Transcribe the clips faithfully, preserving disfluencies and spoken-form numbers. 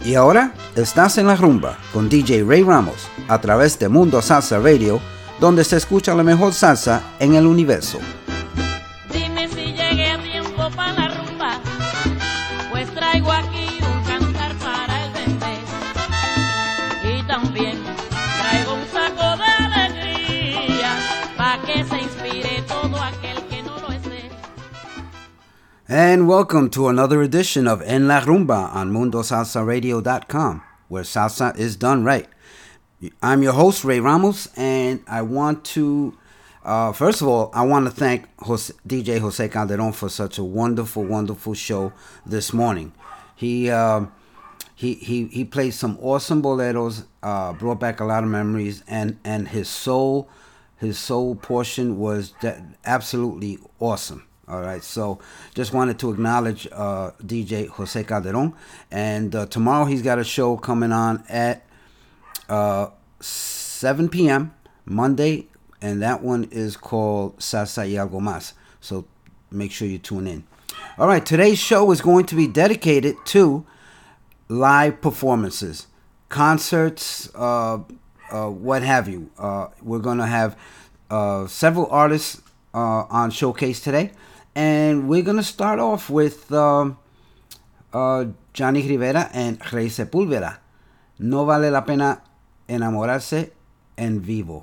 Y ahora estás en la rumba con D J Ray Ramos a través de Mundo Salsa Radio, donde se escucha la mejor salsa en el universo. Dime si llegué a tiempo para la rumba, pues traigo aquí un cantar para el bebé. Y también traigo un saco de alegría, para que se inspire todo aquel que no lo esté. And welcome to another edition of En La Rumba on Mundo Salsa Radio dot com, where salsa is done right. I'm your host, Ray Ramos, and I want to, uh, first of all, I want to thank Jose, D J Jose Calderon for such a wonderful, wonderful show this morning. He uh, he he he played some awesome boleros, uh, brought back a lot of memories, and and his soul, his soul portion was de- absolutely awesome. All right, so just wanted to acknowledge uh, D J Jose Calderon, and uh, tomorrow he's got a show coming on at uh, seven p.m. Monday, and that one is called Salsa y Algo Más. So make sure you tune in. All right, today's show is going to be dedicated to live performances, concerts, uh, uh, what have you. Uh, we're going to have uh, several artists uh, on Showcase today. And we're going to start off with uh, uh, Johnny Rivera and Rey Sepúlveda. No vale la pena enamorarse en vivo.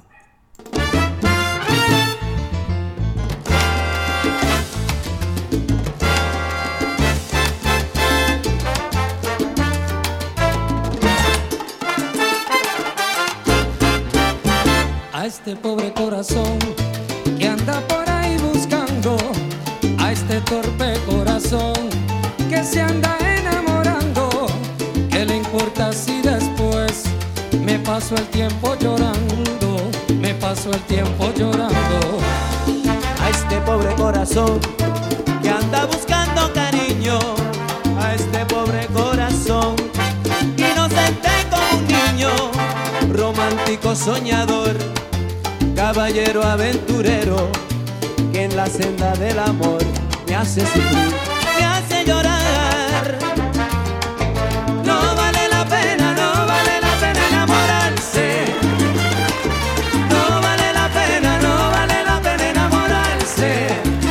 A este pobre corazón que anda por ahí buscando, a este torpe corazón que se anda enamorando, ¿qué le importa si después me paso el tiempo llorando? Me paso el tiempo llorando. A este pobre corazón que anda buscando cariño, a este pobre corazón inocente como un niño, romántico soñador, caballero aventurero, que en la senda del amor me hace sufrir, me hace llorar. No vale la pena, no vale la pena enamorarse. No vale la pena, no vale la pena enamorarse.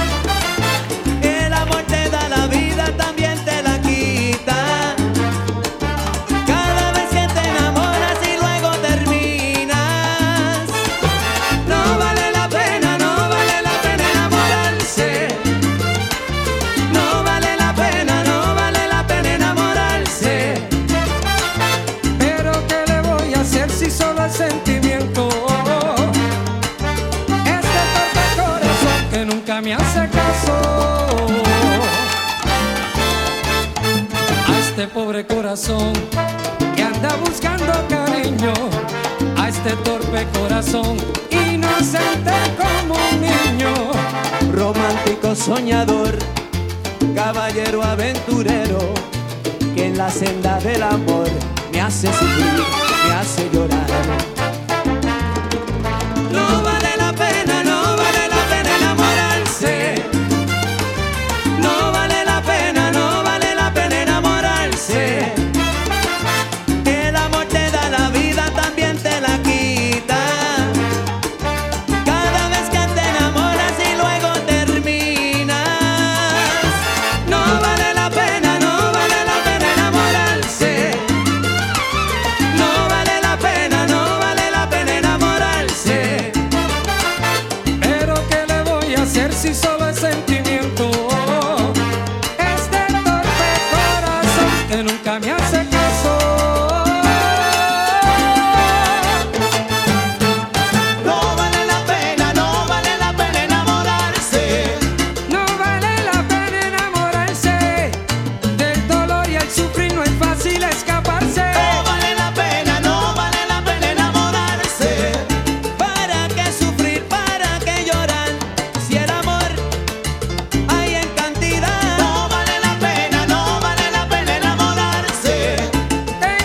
El amor te da la vida, también te la quita. Cada vez que te enamoras y luego terminas. No vale la pena, no vale la pena enamorarse. No vale la pena, no vale la pena enamorarse. Pero ¿qué le voy a hacer si solo el sentimiento? Este torpe corazón que nunca me hace caso. A este pobre corazón que anda buscando cariño, a este torpe corazón inocente como un niño, Romántico soñador, caballero aventurero, que en la senda del amor me hace sufrir, me hace llorar. No vale la pena, no vale la pena enamorarse. No vale la pena, no vale la pena enamorarse. El amor te da la vida, también te la quita. Cada vez que te enamoras y luego terminas. No vale la pena, no vale la pena enamorarse. No vale la pena, no vale la pena enamorarse. pero ¿qué le voy a hacer si solo es sentimiento? Este torpe corazón que nunca me hace caso. No vale la pena, no vale la pena enamorarse. No vale la pena enamorarse, del dolor y el sufrir no es fácil escaparse. No vale la pena, no vale la pena enamorarse. ¿Para qué sufrir, para qué llorar? Si el amor hay en cantidad. No vale la pena, no vale la pena enamorarse. Tengo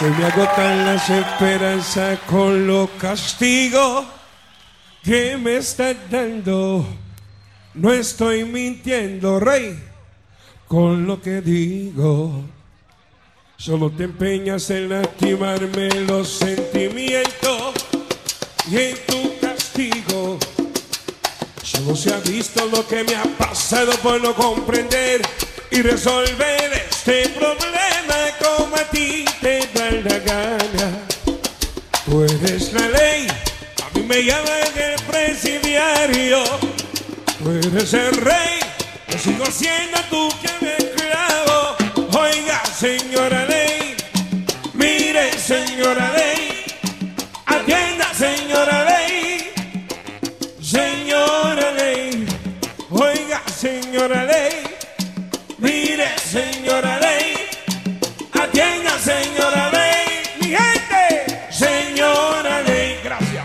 Se me agotan las esperanzas con los castigos que me estás dando. No estoy mintiendo, rey, con lo que digo. Solo te empeñas en lastimarme los sentimientos y en tu castigo solo se ha visto lo que me ha pasado por no comprender y resolver este problema como a ti te da la gana. Tú eres la ley, a mí me llaman el presidiario. Tú eres el rey, yo sigo siendo tú que me esclavo. Oiga, señora ley, mire, señora ley, atienda, señora ley, señora ley, oiga, señora ley, mire, señora ley, atienda, señora ley, mi gente, señora ley, gracias.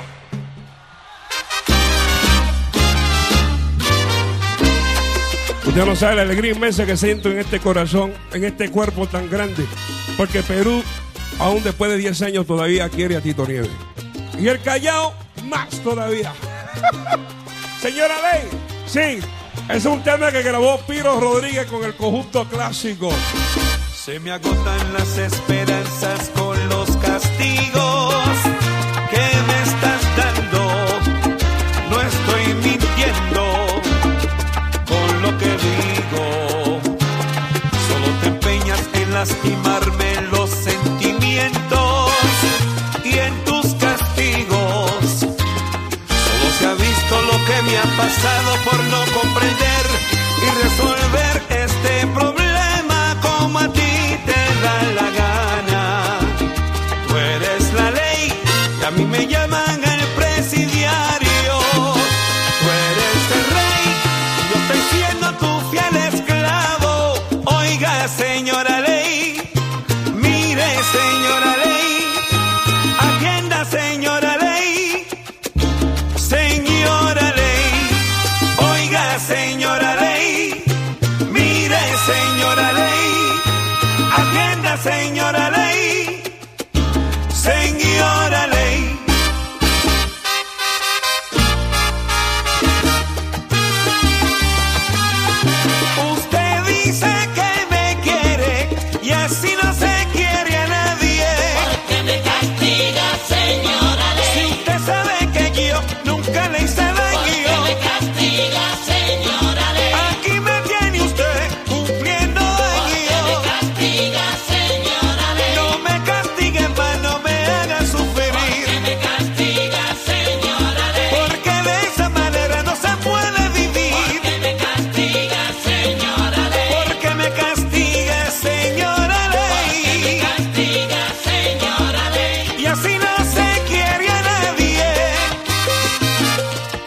Usted no sabe la alegría inmensa que siento en este corazón, en este cuerpo tan grande, porque Perú, aún después de diez años, todavía quiere a Tito Nieves. Y el Callao, más todavía. Señora Ley, sí, es un tema que grabó Piro Rodríguez con el conjunto clásico. Se me agotan las esperanzas con los castigos que me estás dando. No estoy mintiendo con lo que digo. Solo te empeñas en lastimarme los sentimientos y en tus castigos solo se ha visto lo que me ha pasado por no comprender y resolver este problema como a ti te da la gana. Tú eres la ley y a mí me llaman el presidiario. Tú eres el rey y yo estoy siendo tu fiel esclavo. Oiga, señora ley, mire, señora ley, atienda, señora ley, señora ley, oiga, señora ley, mire, señora ley, atienda, señora ley, señora ley. Usted dice que me quiere y así no se quiere a nadie. ¿Por qué me castiga, señora ley? Si usted sabe que yo nunca le hice ¿Por qué daño. me castiga, señora ley? Aquí me tiene usted cumpliendo ¿Por qué me daño. castiga, señora ley? No me castigue más, no me haga ¿Por qué sufrir. me castiga, señora ley? Porque de esa manera no se puede ¿Por vivir. qué me castiga, señora ley? Porque me castiga, señora ¿Por qué me ley. castiga, señora ley? Y así no se quiere a nadie.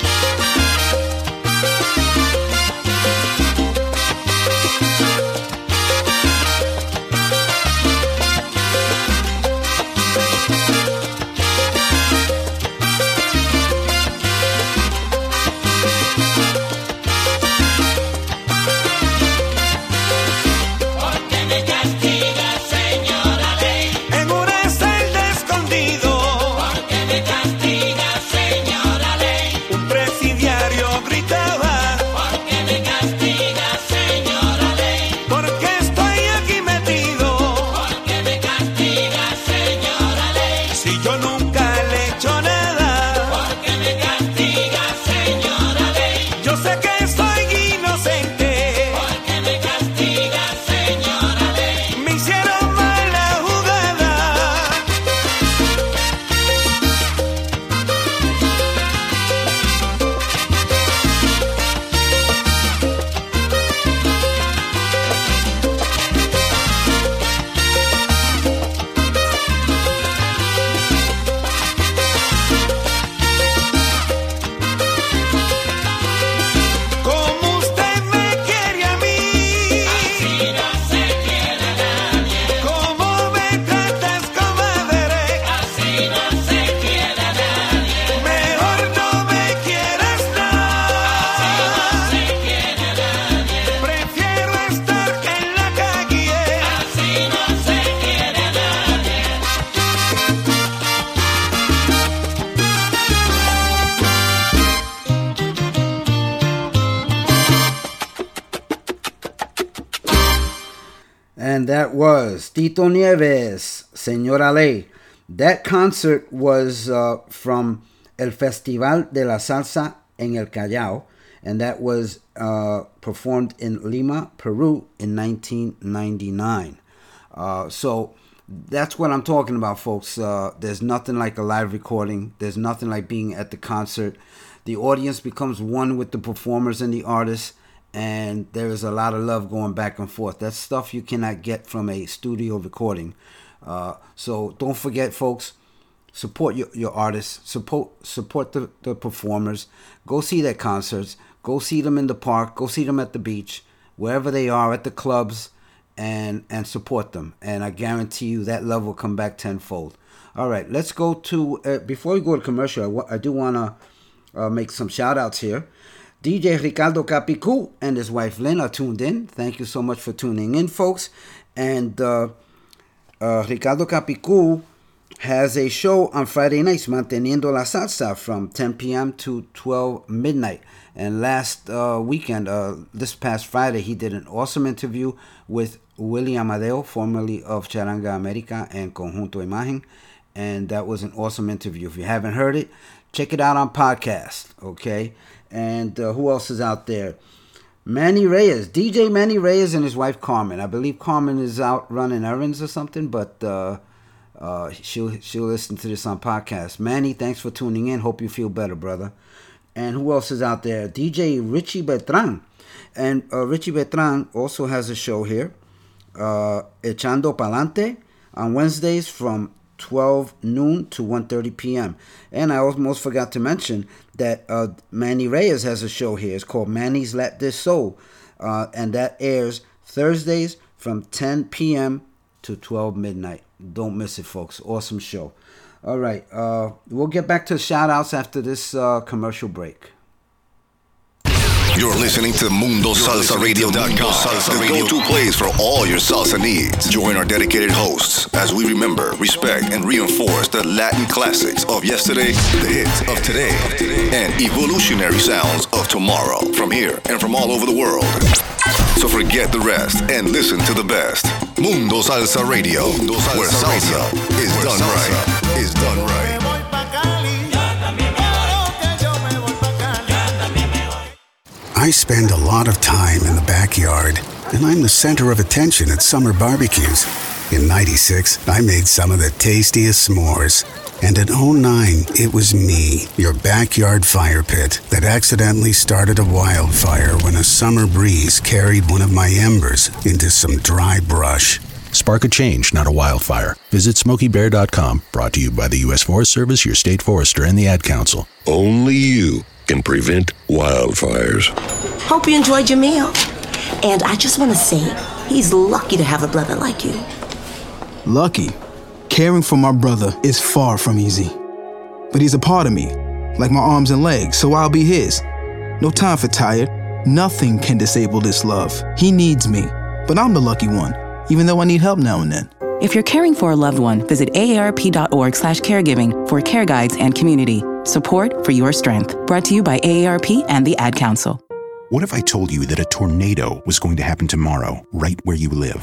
And that was Tito Nieves, Señora Ley. That concert was uh, from El Festival de la Salsa en el Callao, and that was uh, performed in Lima, Peru in nineteen ninety-nine. Uh, so that's what I'm talking about, folks. Uh, there's nothing like a live recording. There's nothing like being at the concert. The audience becomes one with the performers and the artists, and there is a lot of love going back and forth. That's stuff you cannot get from a studio recording. Uh, so don't forget, folks, support your, your artists, support support the, the performers. Go see their concerts. Go see them in the park. Go see them at the beach, wherever they are, at the clubs, and and support them. And I guarantee you that love will come back tenfold. All right, let's go to, uh, before we go to commercial, I, w- I do want to uh, make some shout outs here. D J Ricardo Capicu and his wife Lynn are tuned in. Thank you so much for tuning in, folks. And uh, uh, Ricardo Capicu has a show on Friday nights, Manteniendo la Salsa, from ten p.m. to twelve midnight. And last uh, weekend, uh, this past Friday, he did an awesome interview with Willie Amadeo, formerly of Charanga America and Conjunto Imagen. And that was an awesome interview. If you haven't heard it, check it out on podcast, okay? And uh, who else is out there? Manny Reyes, D J Manny Reyes and his wife Carmen. I believe Carmen is out running errands or something, but uh, uh, she'll she'll listen to this on podcast. Manny, thanks for tuning in. Hope you feel better, brother. And who else is out there? D J Richie Beltran. And uh, Richie Beltran also has a show here, uh, Echando Palante, on Wednesdays from twelve noon to one thirty p.m. And I almost forgot to mention that uh, Manny Reyes has a show here. It's called Manny's Let This Soul. Uh, and that airs Thursdays from ten p.m. to twelve midnight. Don't miss it, folks. Awesome show. All right. Uh, we'll get back to shout outs after this uh, commercial break. You're listening to Mundo Salsa Radio dot com, the go-to place for all your salsa needs. Join our dedicated hosts as we remember, respect, and reinforce the Latin classics of yesterday, the hits of today, and evolutionary sounds of tomorrow from here and from all over the world. So forget the rest and listen to the best. Mundo Salsa Radio, Mundo Salsa where salsa Radio is where done salsa right. Is done right. I spend a lot of time in the backyard, and I'm the center of attention at summer barbecues. In ninety-six, I made some of the tastiest s'mores. And in oh nine, it was me, your backyard fire pit, that accidentally started a wildfire when a summer breeze carried one of my embers into some dry brush. Spark a change, not a wildfire. Visit Smokey Bear dot com, brought to you by the U S Forest Service, your state forester, and the Ad Council. Only you can prevent wildfires. Hope you enjoyed your meal. And I just want to say, he's lucky to have a brother like you. Lucky? Caring for my brother is far from easy. But he's a part of me, like my arms and legs, so I'll be his. No time for tired. Nothing can disable this love. He needs me, but I'm the lucky one, even though I need help now and then. If you're caring for a loved one, visit A A R P dot org slash caregiving for care guides and community. Support for your strength. Brought to you by A A R P and the Ad Council. What if I told you that a tornado was going to happen tomorrow, right where you live?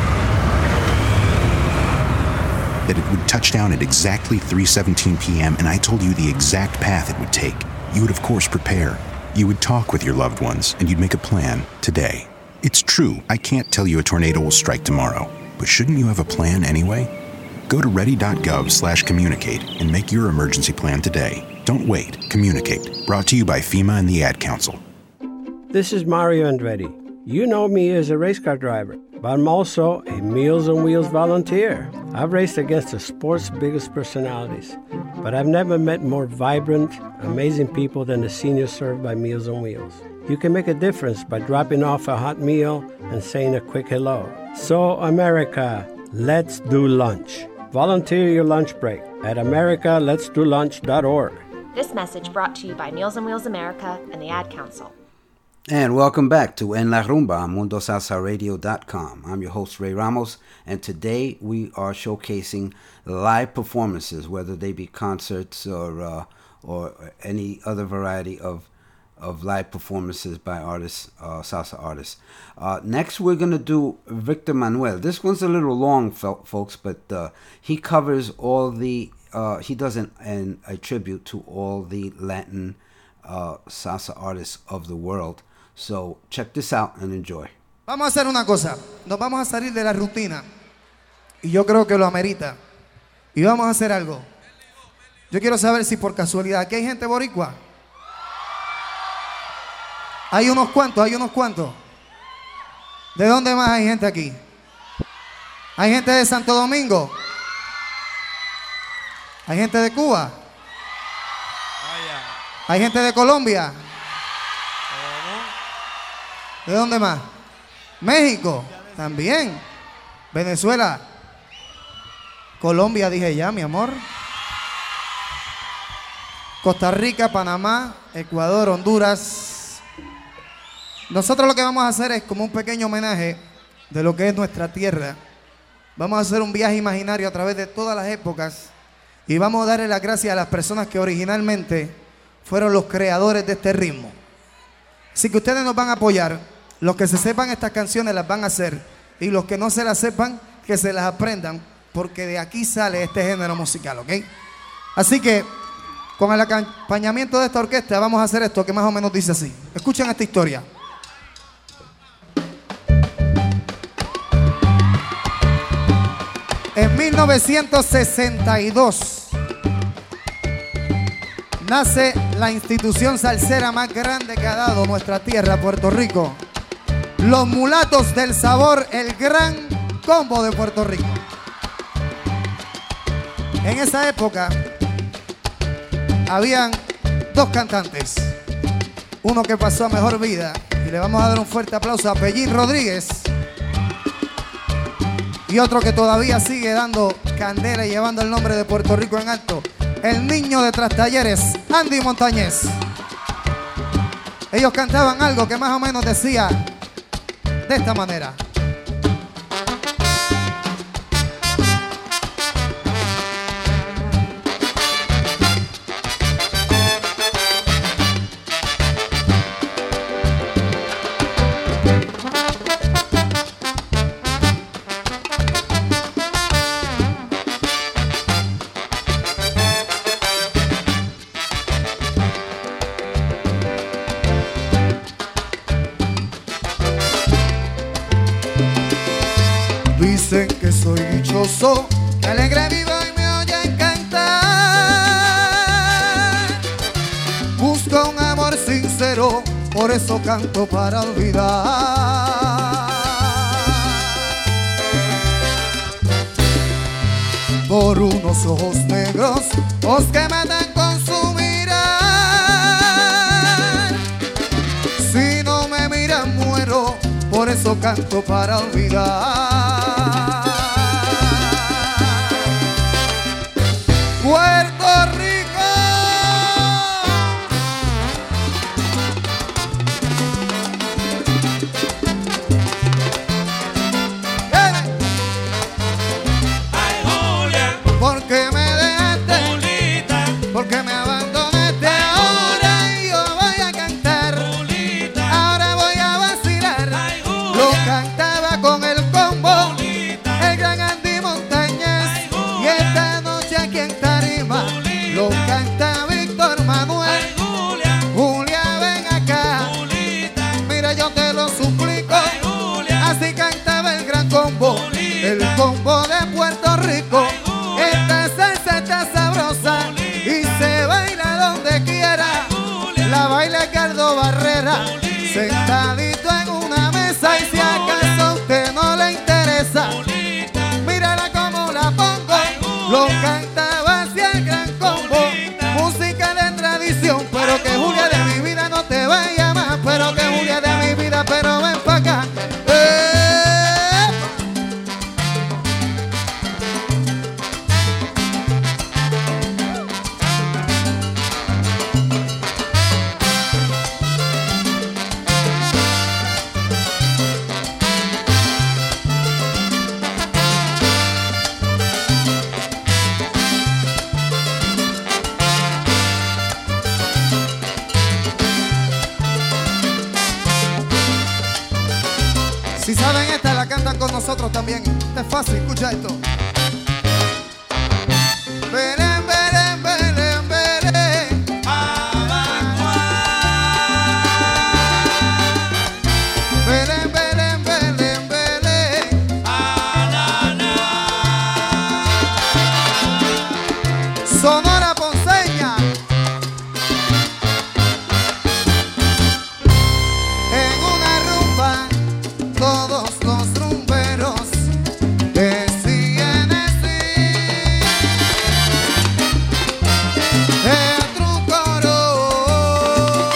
That it would touch down at exactly three seventeen p.m. and I told you the exact path it would take. You would, of course, prepare. You would talk with your loved ones, and you'd make a plan today. It's true, I can't tell you a tornado will strike tomorrow, but shouldn't you have a plan anyway? Go to ready.gov slash communicate and make your emergency plan today. Don't wait. Communicate. Brought to you by FEMA and the Ad Council. This is Mario Andretti. You know me as a race car driver, but I'm also a Meals on Wheels volunteer. I've raced against the sport's biggest personalities, but I've never met more vibrant, amazing people than the seniors served by Meals on Wheels. You can make a difference by dropping off a hot meal and saying a quick hello. So, America, let's do lunch. Volunteer your lunch break at america lets do lunch dot org. This message brought to you by Meals on Wheels America and the Ad Council. And welcome back to En La Rumba on Mundo Salsa Radio dot com. I'm your host, Ray Ramos, and today we are showcasing live performances, whether they be concerts or uh, or any other variety of of live performances by artists, uh, salsa artists. Uh, next, we're going to do Victor Manuel. This one's a little long, folks, but uh, he covers all the, uh, he does an, an, a tribute to all the Latin uh, salsa artists of the world. So check this out and enjoy. Vamos a hacer una cosa, nos vamos a salir de la rutina y yo creo que lo amerita y vamos a hacer algo. Yo quiero saber si por casualidad aquí hay gente boricua. Hay unos cuantos, hay unos cuantos. ¿De dónde más hay gente aquí? ¿Hay gente de Santo Domingo? ¿Hay gente de Cuba? ¿Hay gente de Colombia? ¿De dónde más? México, también. Venezuela. Colombia, dije ya, mi amor. Costa Rica, Panamá, Ecuador, Honduras. Nosotros lo que vamos a hacer es como un pequeño homenaje de lo que es nuestra tierra. Vamos a hacer un viaje imaginario a través de todas las épocas y vamos a darle las gracias a las personas que originalmente fueron los creadores de este ritmo. Así que ustedes nos van a apoyar. Los que se sepan estas canciones las van a hacer y los que no se las sepan, que se las aprendan, porque de aquí sale este género musical, ¿ok? Así que con el acompañamiento de esta orquesta vamos a hacer esto que más o menos dice así. Escuchen esta historia. En mil novecientos sesenta y dos nace la institución salsera más grande que ha dado nuestra tierra, Puerto Rico. Los Mulatos del Sabor, el gran combo de Puerto Rico. En esa época habían dos cantantes. Uno que pasó a mejor vida y le vamos a dar un fuerte aplauso a Pellín Rodríguez. Y otro que todavía sigue dando candela y llevando el nombre de Puerto Rico en alto, el niño de Trastalleres, Andy Montañez. Ellos cantaban algo que más o menos decía de esta manera. Dicen que soy dichoso, que alegre vivo y me oyen cantar. Busco un amor sincero, por eso canto para olvidar. Por unos ojos negros, ojos que matan con su mirar. Si no me miran muero, por eso canto para olvidar. Puerto Rico. Ay, Julia. ¿Por qué me dejaste? Julita. ¿Por qué me abandonaste? Ahora yo voy a cantar. Julita. Ahora voy a vacilar. Ay, Julia. Lo cantaba con el combo. Julita. El gran Andy Montañez. Ay, Julia. Y esta noche aquí en Tarima lo canta Víctor Manuel. Ay, Julia. Julia, ven acá. Julita. Mira, yo te lo suplico. Ay, Julia. Así cantaba el gran combo. Julita. El combo de Puerto Rico. Ay, Julia. Esta salsa está sabrosa. Julita. Y se baila donde quiera. Ay, Julia. La baila Ricardo Barrera. Julita. Sentadito en una mesa. Y si acaso a usted no le interesa, Julita. mírala como la pongo. Ay, Julia. Lo cantaba hacia el gran combo. Julita. Música de tradición. Pero que Julia de mi vida no te vaya más. Pero que Julia de mi vida, pero ven pa' acá. ¡Eh! ¿Saben esta? La cantan con nosotros también. Esta es fácil, escucha esto. Belén, Belén, Belén, Belén. Belén, Belén, Belén, Belén. Sonora Ponceña. En una rumba, todos los rumberos decían así. Entra un coro.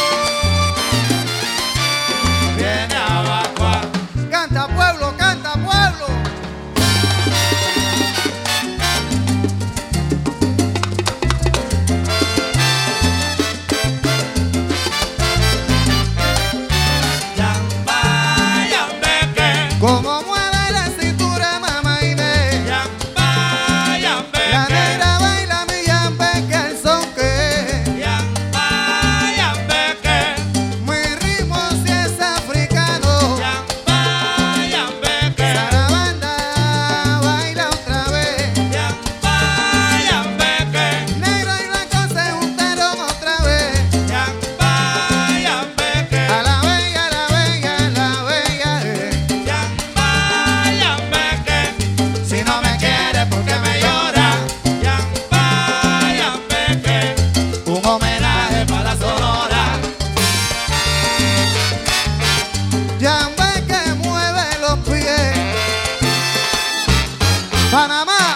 Viene abajo. Canta pueblo, canta pueblo. Como mueve la cintura, mamá Inés. Yamba, yambe, la negra baila mi yambeque al son que. Yamba, yambeque. Mi ritmo si es africano. Yamba, yambeque. Sarabanda, baila otra vez. Yamba, yambeque. Negro y blanco se juntaron otra vez. Yamba, yambeque. A la bella, a la bella, a la bella. eh. Si no me quiere porque me llora. Yamba, yambeque. Un homenaje para la Sonora. Yambeque mueve los pies. Panamá.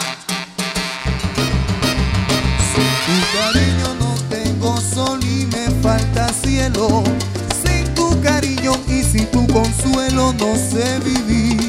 Sin tu cariño no tengo sol y me falta cielo. Sin tu cariño y sin tu consuelo no sé vivir.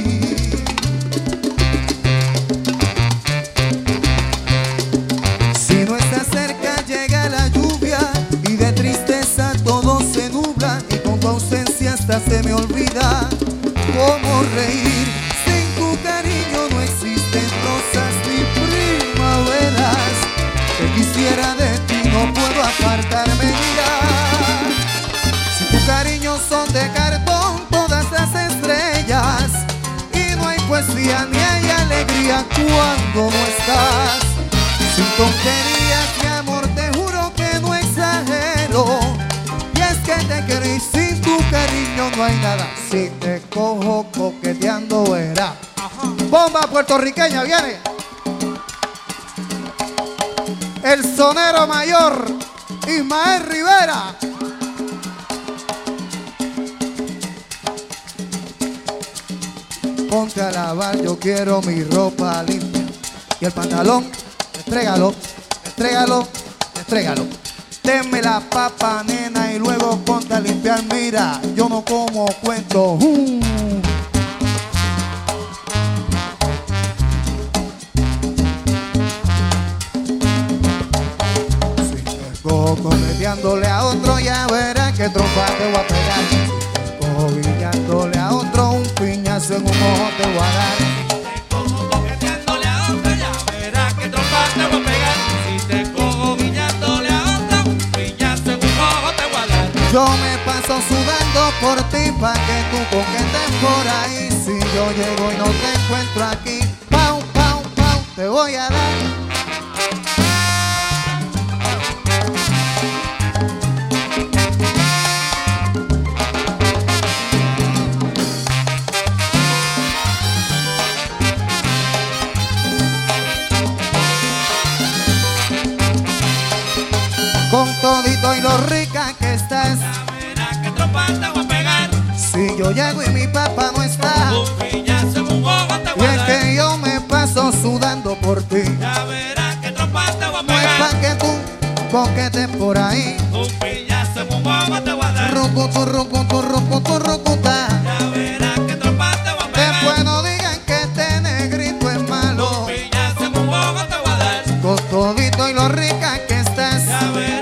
Si no estás cerca llega la lluvia y de tristeza todo se nubla y con tu ausencia hasta se me olvida cómo reír. Sin tu cariño no existen rosas ni primaveras. Te quisiera de ti, no puedo apartarme, mira. Si tu cariño son de cartón todas las estrellas y no hay poesía ni hay alegría cuando no estás. Sin tonterías, mi amor, te juro que no exagero. Y es que te quiero y sin tu cariño no hay nada. Si te cojo coqueteando verás. Bomba puertorriqueña, viene. El sonero mayor, Ismael Rivera. Ponte a lavar, yo quiero mi ropa limpia. Y el pantalón, entrégalo, entrégalo, entrégalo. Denme la papa, nena, y luego ponte a limpiar. Mira, yo no como cuento. Uh. Si te cojo coqueteándole a otro, ya verás que trompa te voy a pegar. Si te cojo guiñándole a otro, un piñazo en un ojo te voy a dar. Te voy a pegar. Si te cojo guiñándole a otro, piñazo en un ojo te voy a dar. Yo me paso sudando por ti pa' que tú coquetes por ahí. Si yo llego y no te encuentro aquí, pau, pau, pau, te voy a dar. Con todito y lo rica que estás, ya verás que trompa te voy a pegar. Si yo llego y mi papá no está, un piñazo en un ojo te voy a dar. Y es que yo me paso sudando por ti, ya verás que trompa te voy a pegar. No es pa' que tú coquetes por ahí, un piñazo en un ojo te voy a dar. Rucutu, rucutu, rucutu, rucuta, ya verás que trompa te voy a pegar. Después no digan que este negrito es malo, un piñazo en un ojo te voy a dar. Con todito y lo rica que estás, ya verás.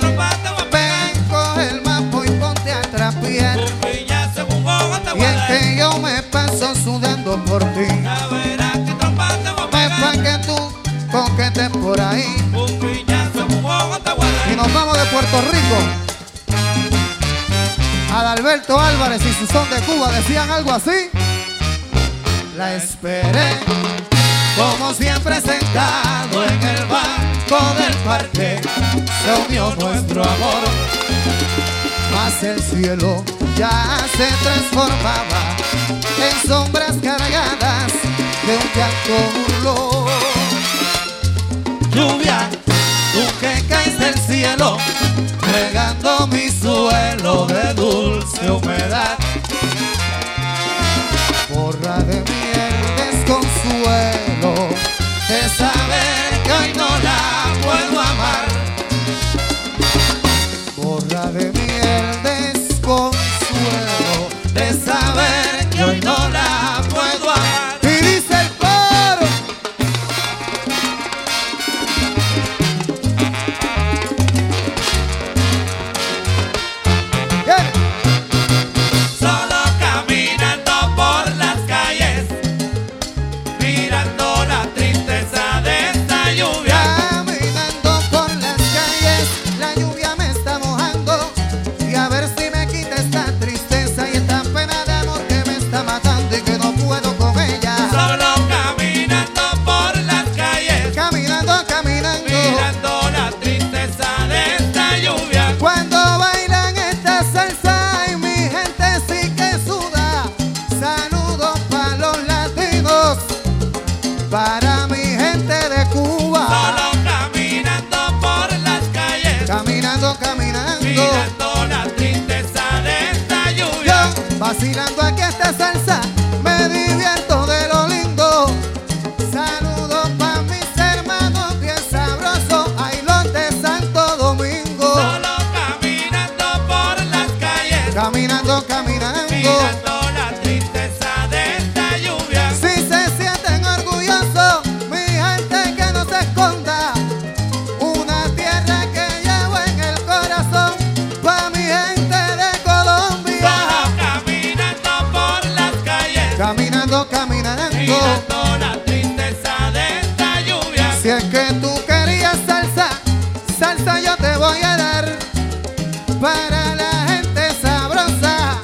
Y es que yo me paso sudando por ti, ya verás que trompa te voy a pegar. Es pa' que tú coquetes por ahí, un piñazo en un ojo te voy a dar. Y nos vamos de Puerto Rico. Adalberto Álvarez y su son de Cuba decían algo así. la esperé, como siempre sentado en el banco del parque, se unió nuestro amor, mas el cielo ya se transformaba en sombras cargadas de un llanto burlón. Lluvia, tú que caes del cielo, regando mi suelo de dulce humedad, borra de mí el desconsuelo de saber que hoy no la puedo amar, borra de mí el desconsuelo de saber que hoy no la puedo amar. Y dice el coro. Yeah. Solo caminando por las calles, mirando la tristeza de esta lluvia. Caminando por las calles, la lluvia me está mojando, y a ver si me quita esta tristeza y esta pena de amor que me está matando y que no puedo con ella. Solo caminando por las calles, Caminando, caminando, mirando la tristeza de esta lluvia. cuando bailan esta salsa y mi gente sí que suda. Saludos para los latinos, para mi gente de Cuba. Solo caminando por las calles, Caminando, caminando, mirando la tristeza de esta lluvia. yo vacilando aquí esta salsa, me divierto de lo lindo. Saludos para mis hermanos bien sabrosos, ay los de Santo Domingo. Solo caminando por las calles, Caminando, caminando, mirando la tristeza de esta lluvia. si se sienten orgullosos, mi gente que no se esconda. Una tierra que llevo en el corazón, pa' mi gente de Colombia. Solo caminando por las calles, Caminando, caminando, mirando la tristeza de esta lluvia. si es que tú querías salsa, salsa yo te voy a dar. Para la gente sabrosa,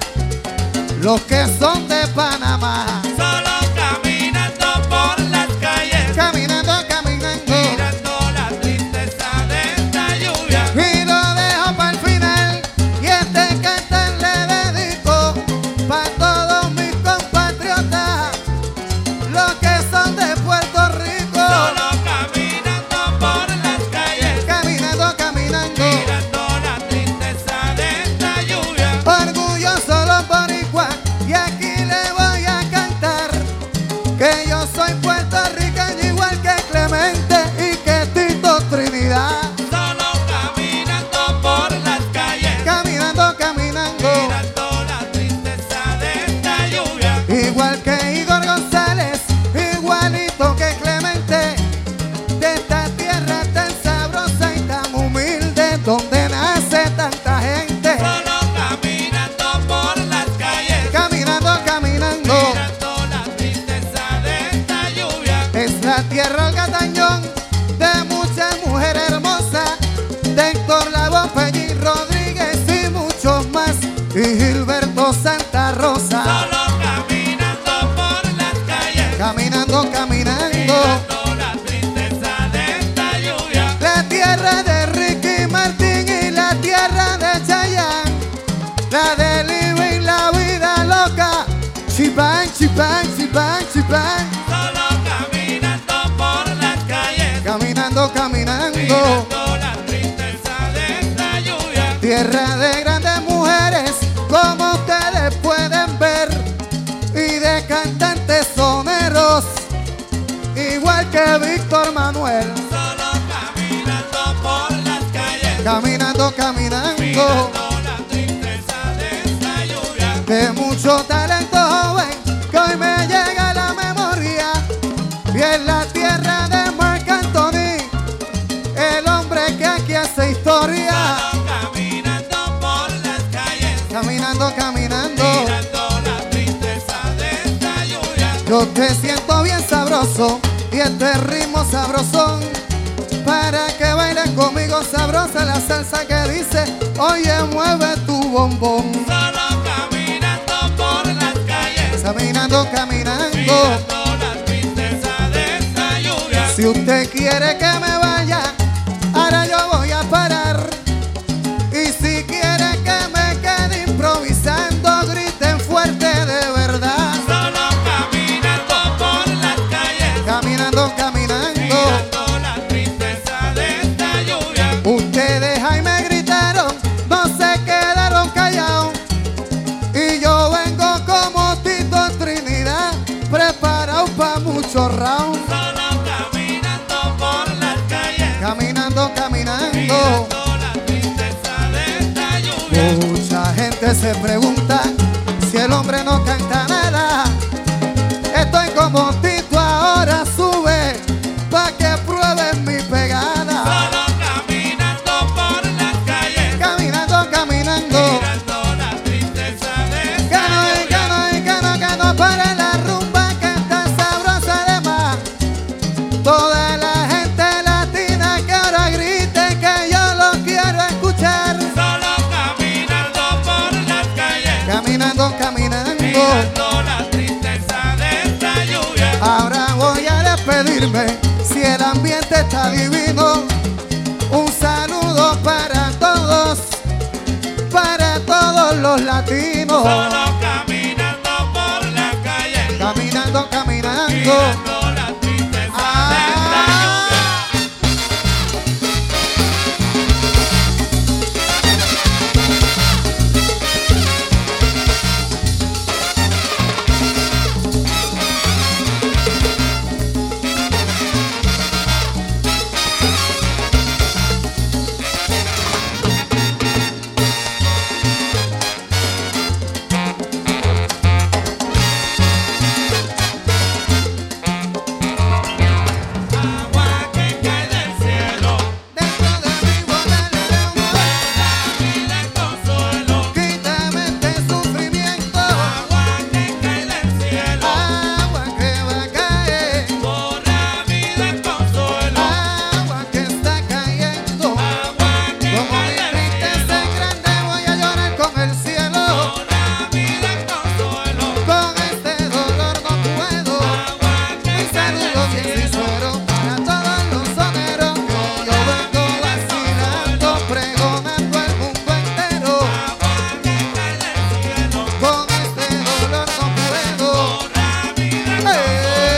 los que son de Panamá. Solo caminando por las calles, Caminando, caminando, mirando la tristeza de esta lluvia. y lo dejo para el final, y este cantar le dedico pa' todos mis compatriotas, los que son de Puerto Rico. Solo caminando por las calles, Caminando, caminando, mirando la tristeza de esta lluvia. orgulloso los boricuas, y aquí le voy a cantar que yo soy puertorriqueño igual que Clemente y que Tito Trinidad. Solo caminando por las calles, Caminando, caminando, mirando la tristeza de esta lluvia. igual que Igor González, igualito que Clemente, de esta tierra tan sabrosa y tan humilde, donde nace tanta gente. Solo caminando por las calles, Caminando, caminando, mirando la tristeza de esta lluvia. es la tierra el Gatañón de muchas mujeres hermosas, de Héctor Lavoe, Peñi Rodríguez y muchos más, y Gilberto Santa Rosa. Solo caminando por las calles, Caminando, caminando, mirando la tristeza de esta lluvia. la tierra de Ricky Martin y la tierra de Chayanne, la de Living la vida loca, chipán, chipán, chipán, chipán. Solo caminando por las calles, Caminando, caminando, mirando la tristeza de esta lluvia. tierra de grandes mujeres, como ustedes pueden ver, y de cantantes soneros, igual que Víctor Manuel. Solo caminando por las calles, Caminando, caminando, mirando la tristeza de esta lluvia. de mucho talento joven que hoy me llega a la memoria, y en la tierra de Marc Anthony, el hombre que aquí hace historia. Solo caminando por las calles, Caminando, caminando, mirando la tristeza de esta lluvia. yo te siento bien sabroso y este ritmo sabrosón, para que bailen conmigo sabrosa la salsa que dice, oye mueve tu bombón. Solo caminando por las calles, Caminando, caminando, mirando Si usted quiere que me vaya, ahora yo voy a parar. Y si quiere que me quede improvisando, griten fuerte de verdad. Solo caminando por las calles, Caminando, caminando, mirando la tristeza de esta lluvia. ustedes ahí me gritaron, no se quedaron callados. Y yo vengo como Tito Trinidad, preparado para muchos rounds. Solo caminando por las calles, Caminando, caminando. mirando la tristeza de esta lluvia. Mucha gente se pregunta si el hombre no canta nada. Estoy como Tito, ahora sube pa' que prueben mi pegada. Solo caminando por las calles, Caminando, caminando. mirando la tristeza de Que esta no, y lluvia. que no, y que no, que no pare la rumba que está sabrosa además. Toda la gente latina que ahora grite que yo lo quiero escuchar. Solo caminando por las calles, Caminando, caminando. mirando la tristeza de esta lluvia. Ahora voy a despedirme, si el ambiente está divino. Un saludo para todos, para todos los latinos. Solo caminando por las calles, Caminando, caminando. mirando la tristeza de esta lluvia. Agua que cae del cielo, Dentro de mi botella de amor, vida y consuelo. quítame este sufrimiento. Agua que cae del cielo, Agua que va a caer, por la vida y consuelo. agua que está cayendo. Agua que Como cae mi del tristeza cielo, es grande, voy a llorar con el cielo. por la vida y consuelo. Con este dolor no puedo. Agua que Mi cae saludo del bien cielo, sincero para todos los soneros que yo vengo vacilando, pregonando al mundo entero. agua que cae del cielo, Con este dolor no puedo. por la vida y Eh.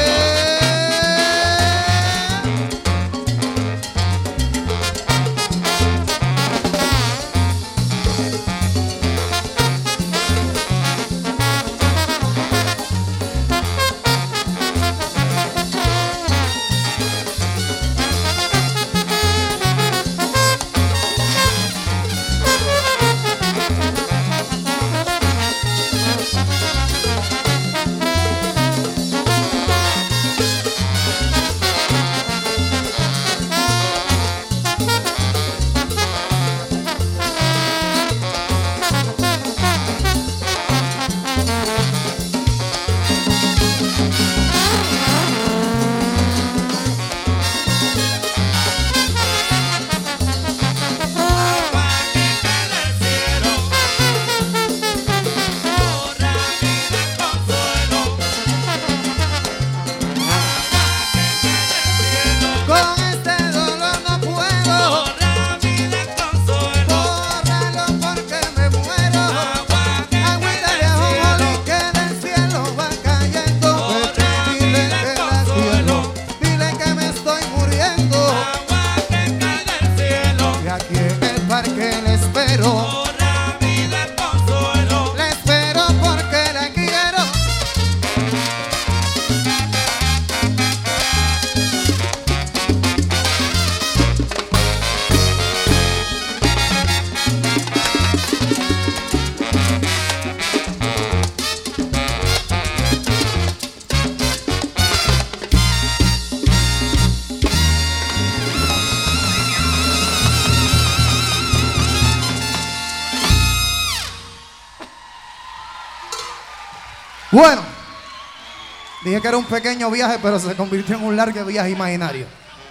agua que cae del cielo, por la vida y consuelo. Con este dolor no puedo. Por la vida y consuelo. Bórralo porque me muero. Agüita de ajonjolí que del cielo va cayendo. Vete y dile que la quiero. Dile que me estoy muriendo. Agua que cae del cielo, Y aquí en el parque le espero. por la vida y consuelo. Le espero porque la quiero. Bueno, dije que era un pequeño viaje, pero se convirtió en un largo viaje imaginario.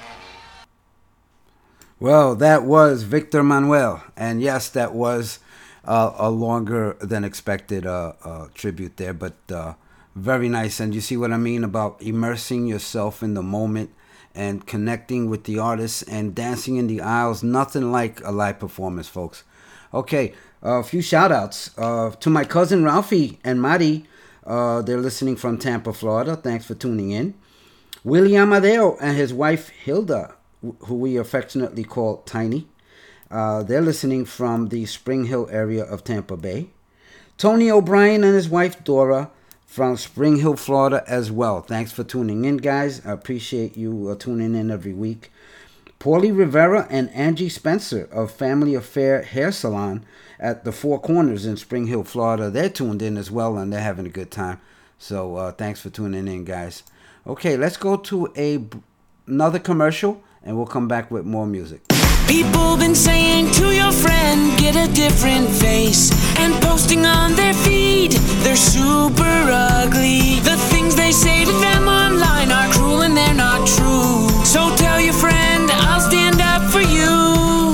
Well, that was Victor Manuel, and yes, that was uh, a longer than expected uh, uh, tribute there, but uh, very nice. And you see what I mean about immersing yourself in the moment and connecting with the artists and dancing in the aisles. Nothing like a live performance, folks. Okay, uh, a few shout outs uh, to my cousin Ralphie and Mari. Uh, they're listening from Tampa, Florida. Thanks for tuning in. Willie Amadeo and his wife Hilda, who we affectionately call Tiny. Uh, they're listening from the Spring Hill area of Tampa Bay. Tony O'Brien and his wife Dora from Spring Hill, Florida as well. Thanks for tuning in, guys. I appreciate you uh, tuning in every week. Paulie Rivera and Angie Spencer of Family Affair Hair Salon at the Four Corners in Spring Hill, Florida. They're tuned in as well, and they're having a good time. So uh, thanks for tuning in, guys. Okay, let's go to a another commercial, and we'll come back with more music. People been saying to your friend, get a different face, and posting on their feed, they're super ugly. The things they say to them online are cruel and they're not true. So tell your friend, I'll stand up for you.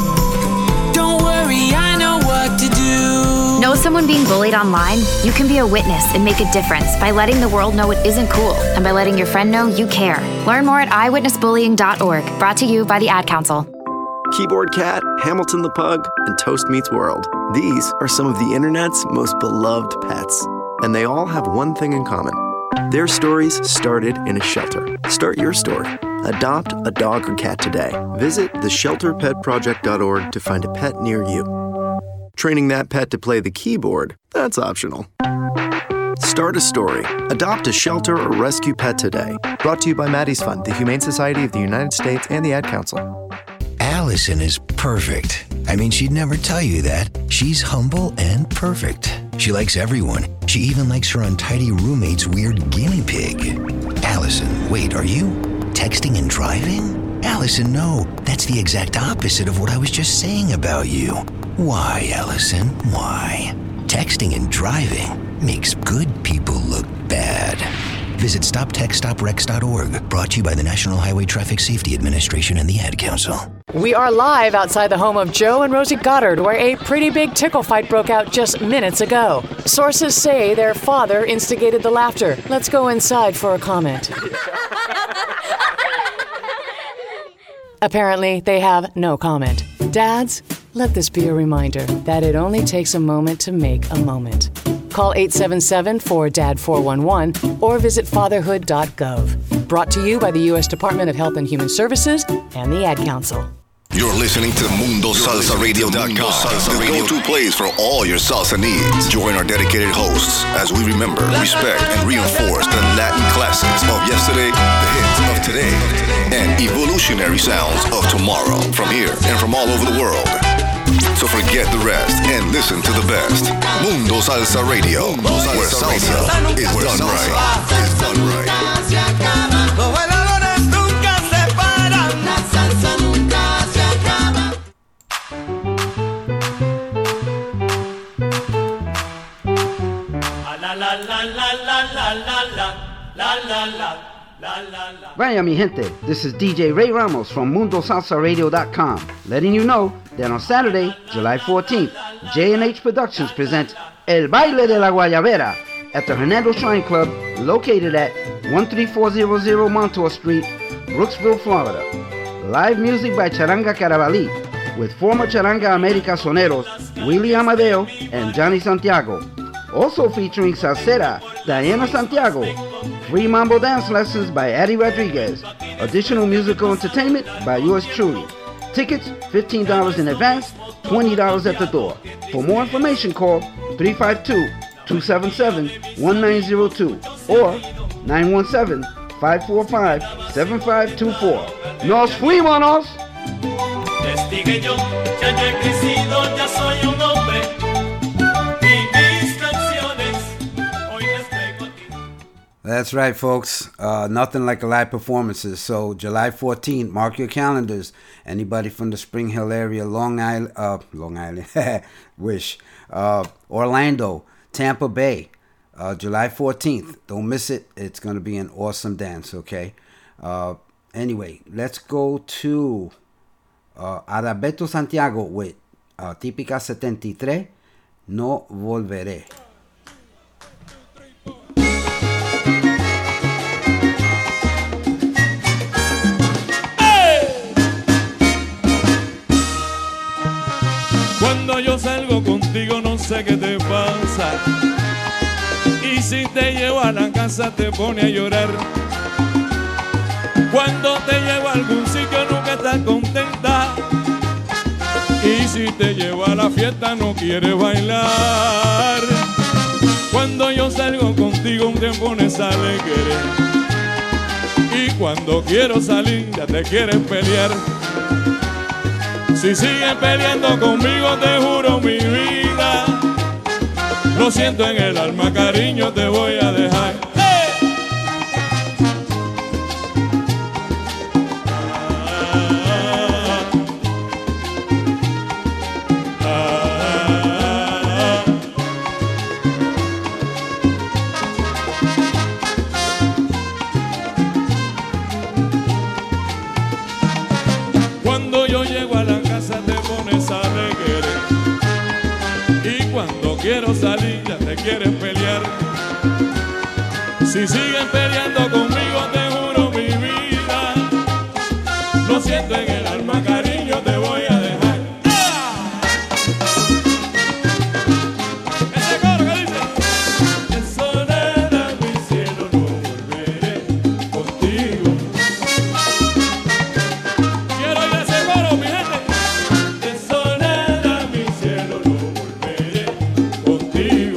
Don't worry, I know what to do. Know someone being bullied online? You can be a witness and make a difference by letting the world know it isn't cool, and by letting your friend know you care. Learn more at eyewitness bullying dot org. Brought to you by the Ad Council. Keyboard Cat, Hamilton the Pug, and Toast Meets World. These are some of the internet's most beloved pets. And they all have one thing in common. Their stories started in a shelter. Start your story. Adopt a dog or cat today. Visit the shelter pet project dot org to find a pet near you. Training that pet to play the keyboard, that's optional. Start a story. Adopt a shelter or rescue pet today. Brought to you by Maddie's Fund, the Humane Society of the United States, and the Ad Council. Allison is perfect. I mean, she'd never tell you that. She's humble and perfect. She likes everyone. She even likes her untidy roommate's weird guinea pig. Allison, wait, are you texting and driving? Allison, no. That's the exact opposite of what I was just saying about you. Why, Allison? Why? Texting and driving makes good people look bad. Visit stop text stop wrecks dot org. Brought to you by the National Highway Traffic Safety Administration and the Ad Council. We are live outside the home of Joe and Rosie Goddard, where a pretty big tickle fight broke out just minutes ago. Sources say their father instigated the laughter. Let's go inside for a comment. Apparently, they have no comment. Dads, let this be a reminder that it only takes a moment to make a moment. Call eight seven seven, four D A D, four one one or visit fatherhood dot gov. Brought to you by the U S Department of Health and Human Services and the Ad Council. You're listening to Mundo Salsa Radio dot com, the go-to place for all your salsa needs. Join our dedicated hosts as we remember, respect, and reinforce the Latin classics of yesterday, the hits of today, and evolutionary sounds of tomorrow from here and from all over the world. So forget the rest and listen to the best. Mundo Salsa Radio, where salsa is done right. Is done right. Los bailadores nunca se paran. La salsa nunca se acaba. La la la la la la la la la la la. Vaya mi gente, this is D J Ray Ramos from Mundo Salsa Radio dot com, letting you know that on Saturday, July fourteenth, J and H Productions presents El Baile de la Guayabera at the Hernando Shrine Club, located at one three four zero zero Montour Street, Brooksville, Florida. Live music by Charanga Carabalí, with former Charanga America soneros Willie Amadeo and Johnny Santiago. Also featuring salsera Diana Santiago. Free mambo dance lessons by Addie Rodriguez. Additional musical entertainment by yours truly. Tickets fifteen dollars in advance, twenty dollars at the door. For more information, call three five two, two seven seven, one nine zero two or nine one seven, five four five, seven five two four. ¡Nos fuimos! Destigué yo, ya yo he crecido, ya soy un hombre. Y mis canciones hoy les traigo aquí. That's right, folks. Uh, nothing like a live performances. So July fourteenth, mark your calendars. Anybody from the Spring Hill area, Long Island, uh, Long Island, wish, uh, Orlando, Tampa Bay, uh, July fourteenth. Don't miss it. It's going to be an awesome dance, okay? Uh, anyway, let's go to uh, Adalberto Santiago with uh, Típica setenta y tres, No Volveré. sé qué te pasa. Y si te llevo a la casa te pone a llorar. Cuando te llevo a algún sitio nunca estás contenta. Y si te llevo a la fiesta no quieres bailar. Cuando yo salgo contigo te pones alegre. Y cuando quiero salir ya te quieres pelear. Si sigues peleando conmigo te juro mi vida, lo siento en el alma, cariño, te voy a dejar. Cuando yo llego a la casa te pones alegre. Y cuando quiero salir ya te quieres pelear. Si siguen peleando conmigo te juro mi vida, lo siento en el alma, cariño, te voy a dejar. Ese coro que dice: de soledad mi cielo no volveré contigo. Quiero ir a ese coro, mi gente. De soledad mi cielo no volveré contigo.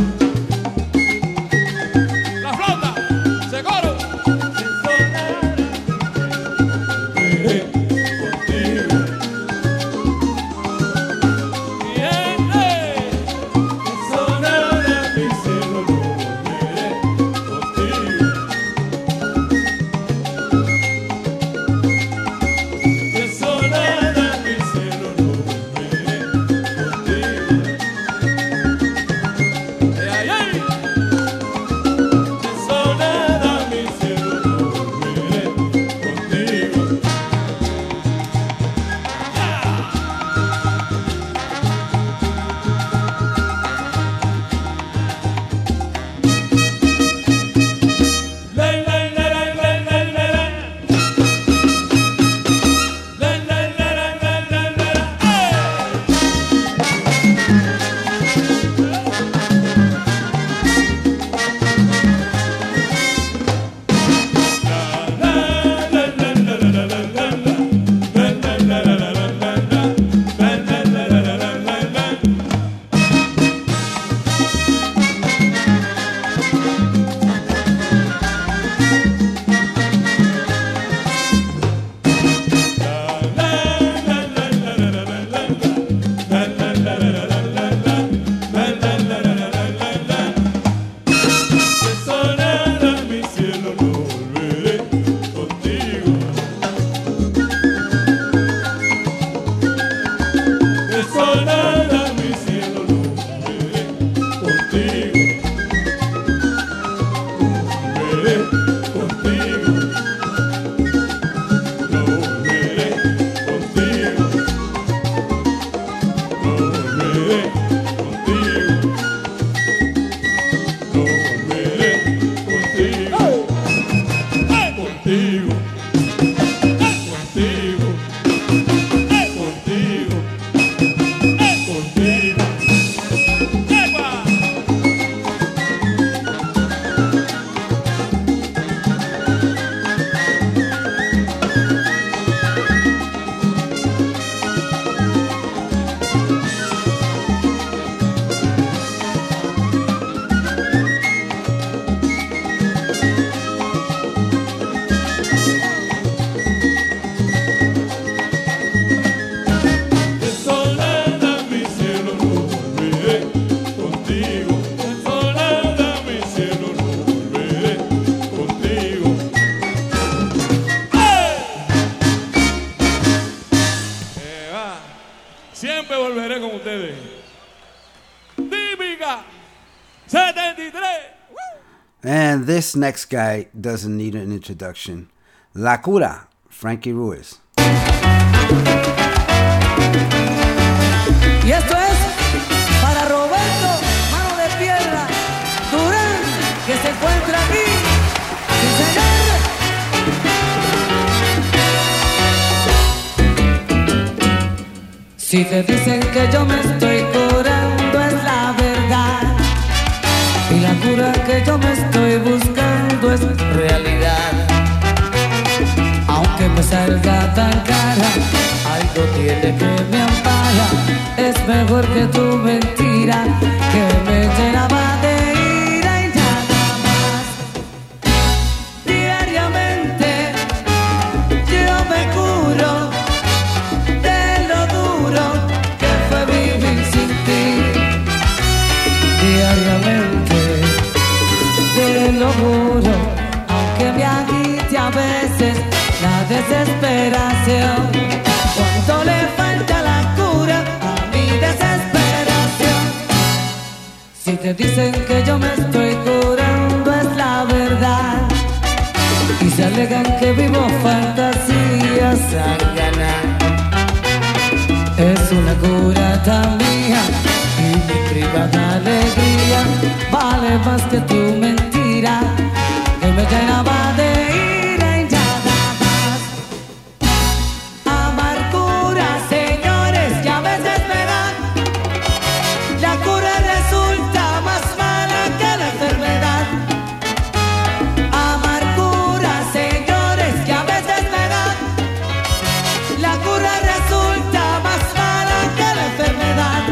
La flauta, ese coro. De soledad volveré contigo. Mi gente, de soledad mi cielo no volveré contigo. De soledad mi cielo no volveré contigo. Ay, ay, ay. De soledad mi cielo no volveré contigo. La, la, la, la, la, la, la, la. La, la, la, la, la, la, la, la. De soledad mi cielo no volveré contigo. De soledad mi cielo no volveré contigo. Volveré contigo. No volveré contigo. No volveré contigo. No volveré contigo. Contigo. Contigo. Contigo. Contigo. ¡Epa! De soledad mi cielo no volveré contigo. De soledad mi cielo no volveré contigo. ¡Eh! Eh, va. Siempre volveré con ustedes. Típica setenta y tres. And this next guy doesn't need an introduction. La Cura, Frankie Ruiz. Y esto es para Roberto, mano de piedra, Durán, que se encuentra aquí. ¡Sí, señor! Si te dicen que yo me estoy curando es la que yo me estoy buscando es realidad. Aunque me salga tan cara, algo tiene que me ampara. Es mejor que tu mentira, que me llenaba de ira y nada más. Diariamente yo me curo de lo duro que fue vivir sin ti. Diariamente te lo juro, aunque me agite a veces la desesperación, cuando le falta la cura a mi desesperación. Si te dicen que yo me estoy curando es la verdad, y se alegan que vivo fantasías a ganar. Es una cura tan mía y mi privada alegría vale más que tu mentira, que me llenaba de ira y nada más. Amargura, señores, que a veces me dan. La cura resulta más mala que la enfermedad. Amargura, señores, que a veces me dan. La cura resulta más mala que la enfermedad.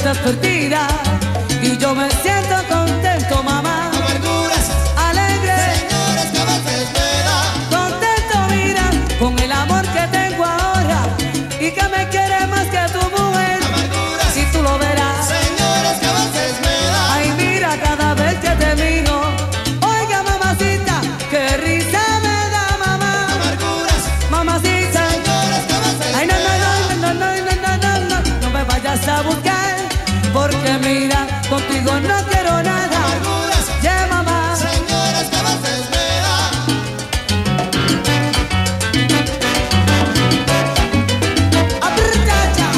estás perdida y yo me siento contento, mamá. Amarguras, alegre, señores, que a veces me da. Contento, mira, con el amor que tengo ahora y que me quiere más que tu mujer. Amarguras, si tú lo verás, señores, que a veces me da. Ay, mira cada vez que te miro. Oiga, mamacita, qué risa me da, mamá. Amarguras, mamacita, señores, que a veces ay, no, no, no, no, no, no, no, no, no, no me vayas a buscar, porque mira, contigo no quiero nada. Amarguras, yeah, mamá. Señores, que a veces me da. Aprieta.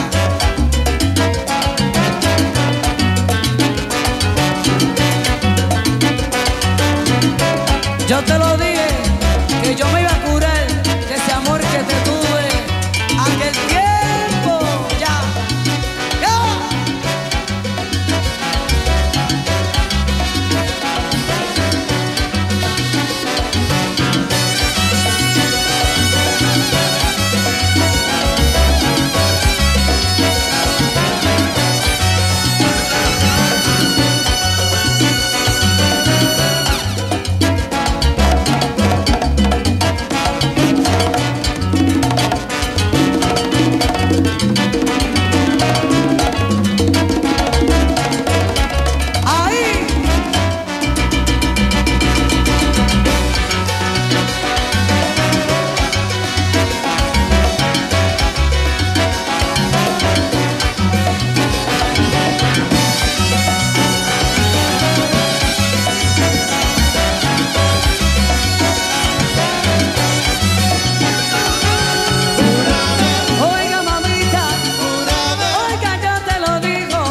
Yo te lo dije, que yo me iba a curar de ese amor que te tuve aquel tiempo, ya, ya. Oiga, mamita, oiga, yo te lo digo,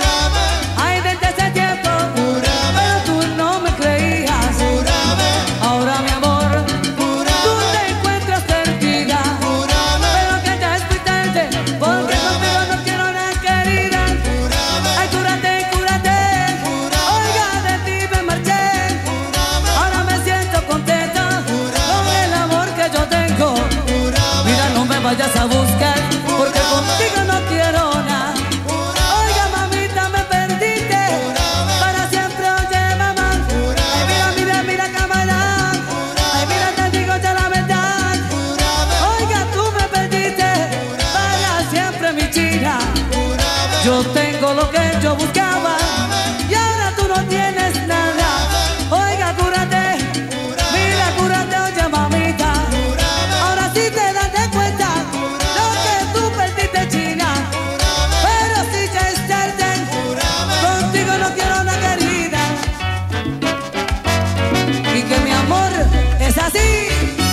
ay, desde ese tiempo, pero tú no me creías. Ahora, mi amor, tú te encuentras perdida, pero que ya es muy tarde, porque contigo no quiero nada, querida. Ay, cúrate, cúrate, oiga, de ti me marché. Ahora me siento contenta con el amor que yo tengo. Mira, no me vayas a buscar, porque contigo no quiero nada. Oiga, mamita, me perdiste para siempre, oye, mamá. Ay, mira, mira, mira, camarada. Ay, mira, te digo ya la verdad. Oiga, tú me perdiste para siempre, mi china. Yo tengo lo que yo buscaba y ahora tú no tienes nada. Oiga, cúrate, mira, cúrate, oye, mamita. Ahora sí te das de cuenta lo que tú perdiste, china. Pero si ya es tarde, contigo no quiero una querida. Y que mi amor es así.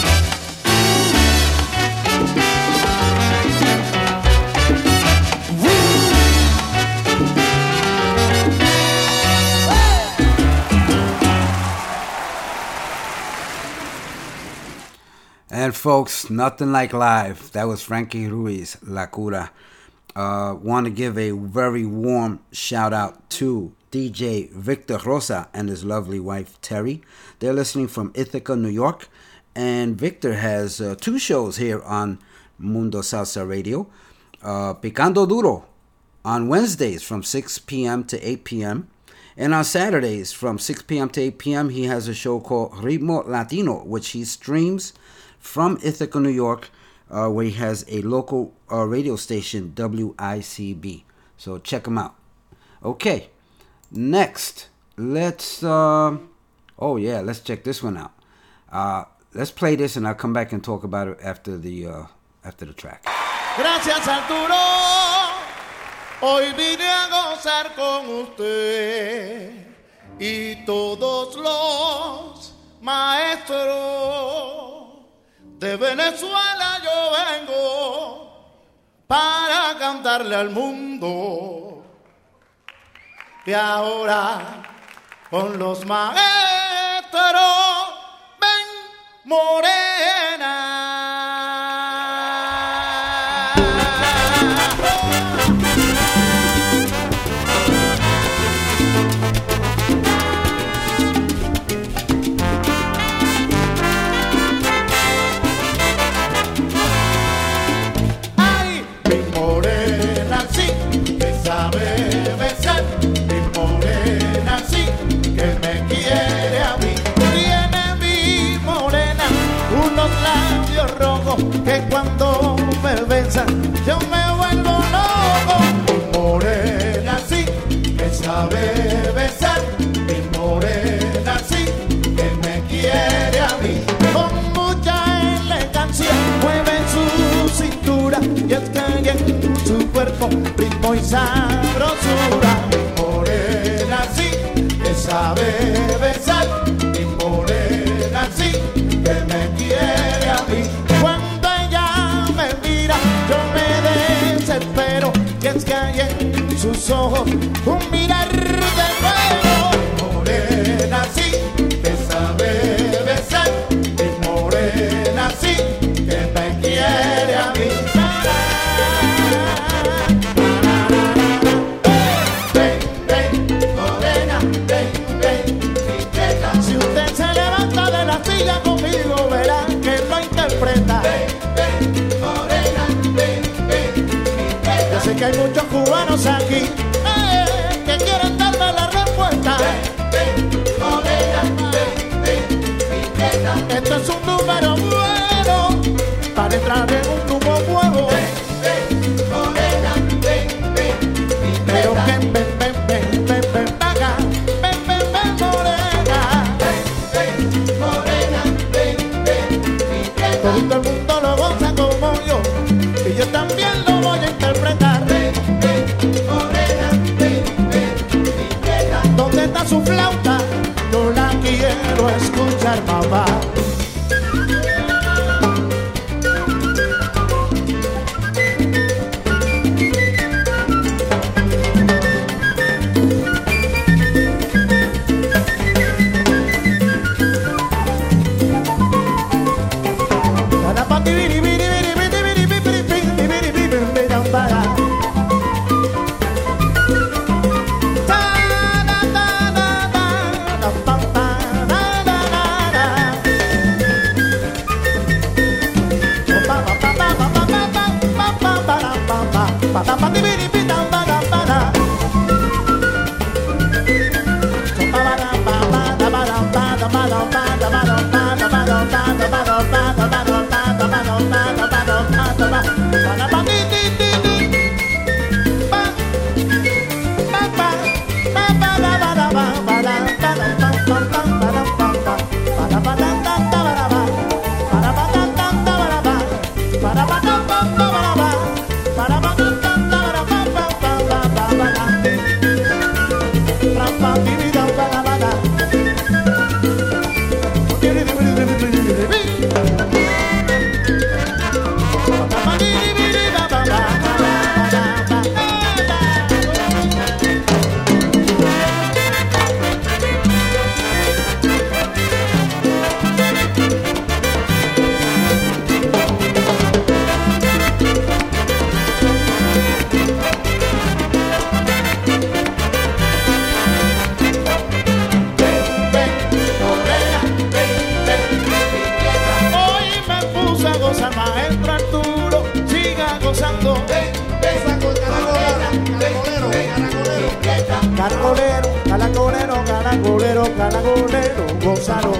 And folks, nothing like live. That was Frankie Ruiz, La Cura. Uh, want to give a very warm shout out to D J Victor Rosa and his lovely wife Terry. They're listening from Ithaca, New York. And Victor has uh, two shows here on Mundo Salsa Radio. Uh, Picando Duro on Wednesdays from six p.m. to eight p.m. And on Saturdays from six p.m. to eight p.m. he has a show called Ritmo Latino, which he streams from Ithaca, New York, uh, where he has a local uh, radio station, W I C B. So check him out. Okay, next, let's, uh, oh yeah, let's check this one out. Uh, let's play this and I'll come back and talk about it after the, uh, after the track. Gracias, Arturo. Hoy vine a gozar con usted y todos los maestros. De Venezuela yo vengo para cantarle al mundo. Y ahora con los maestros, ven morena. Sabe quiere a mí. Tiene mi morena unos labios rojos que cuando me besan yo me vuelvo loco. Mi morena sí que sabe besar, mi morena sí que me quiere a mí. Con mucha elegancia mueve su cintura y es que hay en su cuerpo ritmo y sabrosura. Mi morena sí que sabe besar, mi morena sí que me quiere a mí. Cuando ella me mira yo me desespero y es que hay en sus ojos un mirar de fuego. Mi morena sí que sabe besar, mi morena sí que me quiere a mí. Conmigo verá que lo interpreta. Ven, ven, morena, ven, ven, ven. Yo sé que hay muchos cubanos aquí eh, que quieren darme la respuesta. Ven, ven, morena, ven, ven, esto es un número bueno para entrar en un grupo nuevo. Ven, ven, morena, ven, ven, pero que ven, ven, ven, ven, ven, acá. Ven, ven, ven, morena. Todo el mundo lo goza como yo y yo también lo voy a interpretar. Ven, ven, morena, ven, ven, mi tierra. ¿Dónde está su flauta? Yo la quiero escuchar, mamá. Caracolero, caracolero, caracolero, caracolero, gózalo.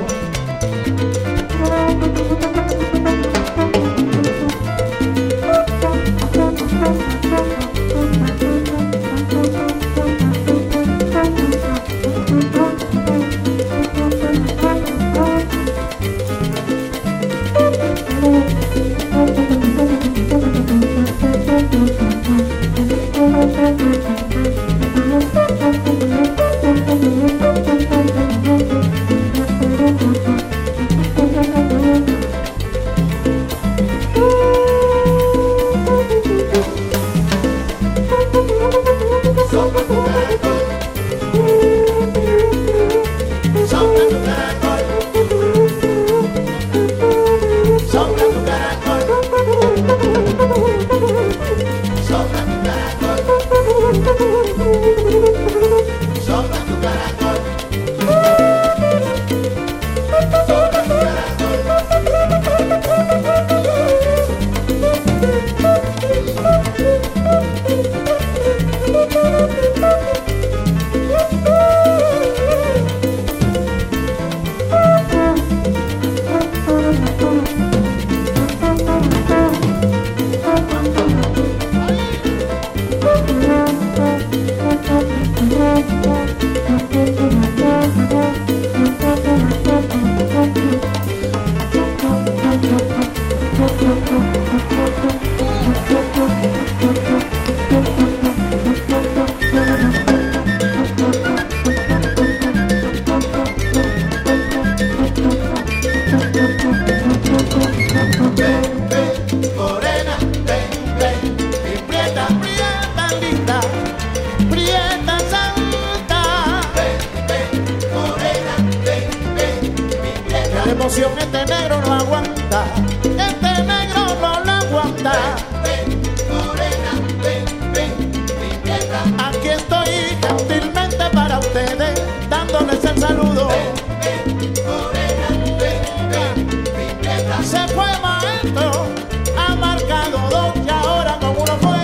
La emoción este negro no aguanta, este negro no lo aguanta. Ven, ven, morena, ven, ven, mi tierra. Aquí estoy gentilmente para ustedes, dándoles el saludo. Ven, ven, morena, ven, ven, mi tierra. Se fue maestro, ha marcado dos y ahora con uno fuera.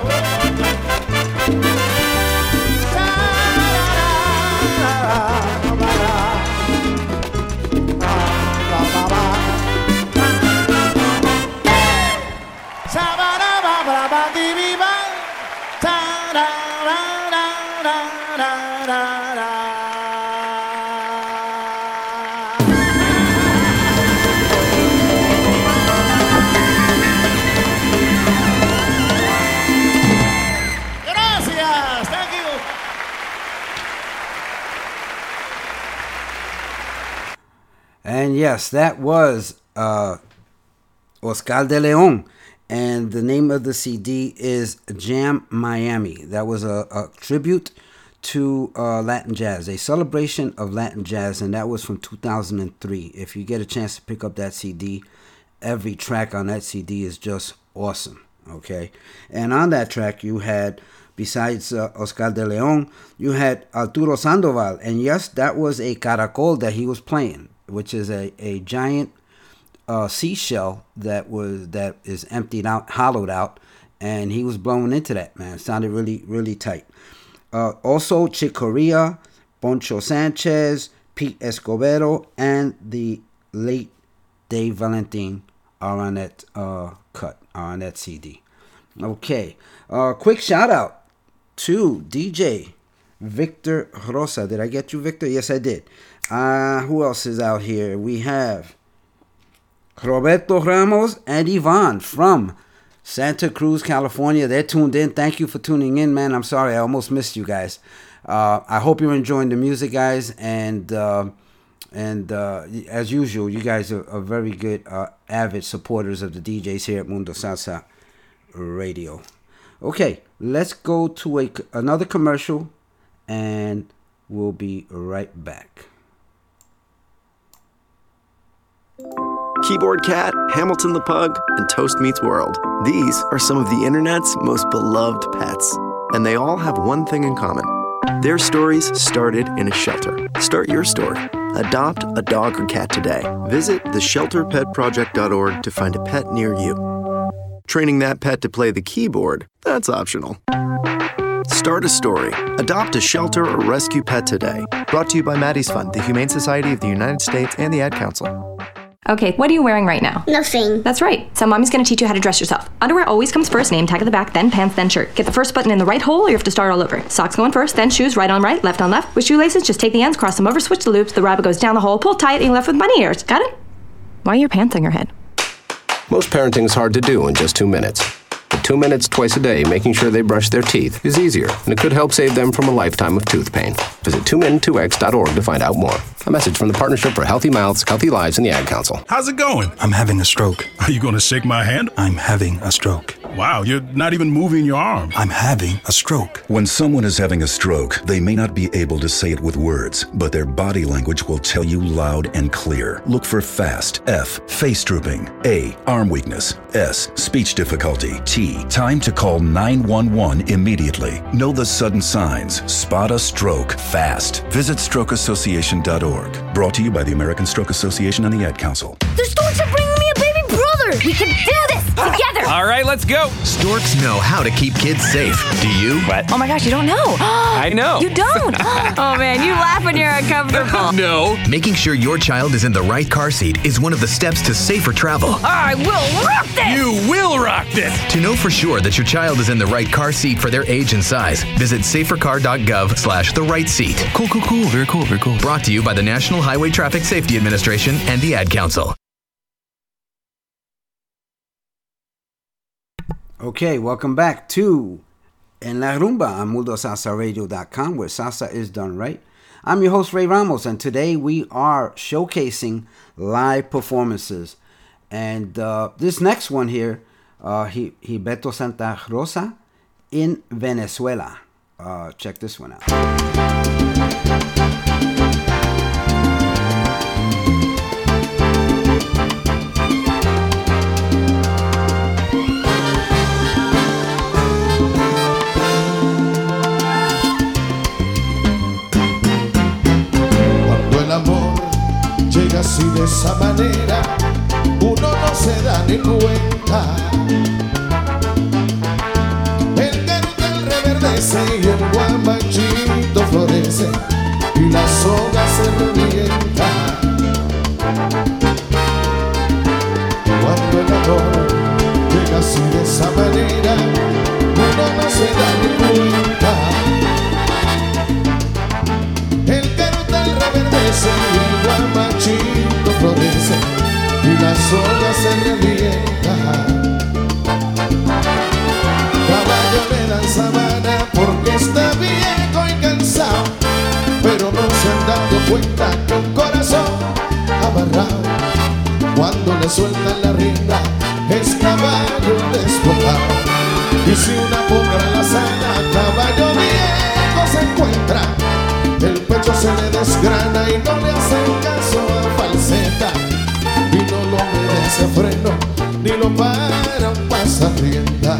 And yes, that was uh, Oscar de Leon. And the name of the C D is Jam Miami. That was a, a tribute to uh, Latin jazz, a celebration of Latin jazz. And that was from two thousand three. If you get a chance to pick up that C D, every track on that C D is just awesome. Okay. And on that track, you had, besides uh, Oscar de Leon, you had Arturo Sandoval. And yes, that was a caracol that he was playing, which is a, a giant uh, seashell that was that is emptied out, hollowed out, and he was blowing into that, man. It sounded really, really tight. Uh, also, Chick Corea, Poncho Sanchez, Pete Escobedo, and the late Dave Valentin are on that uh, cut, are on that C D. Okay, uh, quick shout out to D J Victor Rosa. Did I get you, Victor? Yes, I did. Uh, who else is out here? We have Roberto Ramos and Yvonne from Santa Cruz, California. They're tuned in. Thank you for tuning in, man. I'm sorry, I almost missed you guys. Uh, I hope you're enjoying the music, guys. And uh, and uh, as usual, you guys are, are very good, uh, avid supporters of the D Js here at Mundo Salsa Radio. Okay, let's go to a, another commercial, and we'll be right back. Keyboard Cat, Hamilton the Pug, and Toast Meets World. These are some of the internet's most beloved pets. And they all have one thing in common. Their stories started in a shelter. Start your story. Adopt a dog or cat today. Visit the shelter pet project dot org to find a pet near you. Training that pet to play the keyboard, that's optional. Start a story. Adopt a shelter or rescue pet today. Brought to you by Maddie's Fund, the Humane Society of the United States, and the Ad Council. Okay, what are you wearing right now? Nothing. That's right. So mommy's gonna teach you how to dress yourself. Underwear always comes first, name tag at the back, then pants, then shirt. Get the first button in the right hole or you have to start all over. Socks going first, then shoes, right on right, left on left. With shoelaces, just take the ends, cross them over, switch the loops, the rabbit goes down the hole, pull tight, and you're left with bunny ears. Got it? Why are your pants on your head? Most parenting's hard to do in just two minutes. But two minutes twice a day making sure they brush their teeth is easier, and it could help save them from a lifetime of tooth pain. Visit two min two x dot org to find out more. A message from the Partnership for Healthy Mouths, Healthy Lives, and the Ad Council. How's it going? I'm having a stroke. Are you going to shake my hand? I'm having a stroke. Wow, you're not even moving your arm. I'm having a stroke. When someone is having a stroke, they may not be able to say it with words, but their body language will tell you loud and clear. Look for FAST. F. Face drooping. A. Arm weakness. S. Speech difficulty. T. Time to call nine one one immediately. Know the sudden signs. Spot a stroke fast. Visit stroke association dot org. Brought to you by the American Stroke Association and the Ad Council. The storks are bringing me a baby brother. We can do this together. All right, let's go. Storks know how to keep kids safe. Do you? What? Oh my gosh, you don't know. I know. You don't. Oh man, you laugh when you're uncomfortable. No. Making sure your child is in the right car seat is one of the steps to safer travel. I will rock this. You will rock this. To know for sure that your child is in the right car seat for their age and size, visit safer car dot gov slash the right seat. Cool, cool, cool. Very cool, very cool. Brought to you by the National Highway Traffic Safety Administration and the Ad Council. Okay, welcome back to En La Rumba on mundo salsa radio dot com, where salsa is done right. I'm your host, Ray Ramos, and today we are showcasing live performances. And uh, this next one here, uh, Gilberto Santa Rosa in Venezuela. Uh, check this one out. así de esa manera, uno no se da ni cuenta. El carutel reverdece y el guamachito florece y la soga se revienta. Cuando el amor llega así de esa manera, uno no se da ni cuenta. El carutel reverdece y el guamachito florece y la soga se revienta. Caballo le dan sabana porque está viejo y cansado, pero no se han dado cuenta que un corazón amarrado, cuando le sueltan la rienda, es caballo despojado. Y si una potra la sana, caballo viejo se encuentra, el pecho se le desgrana y no le hacen caso a falseta, y no lo obedece a freno, ni lo para un pasarrienda.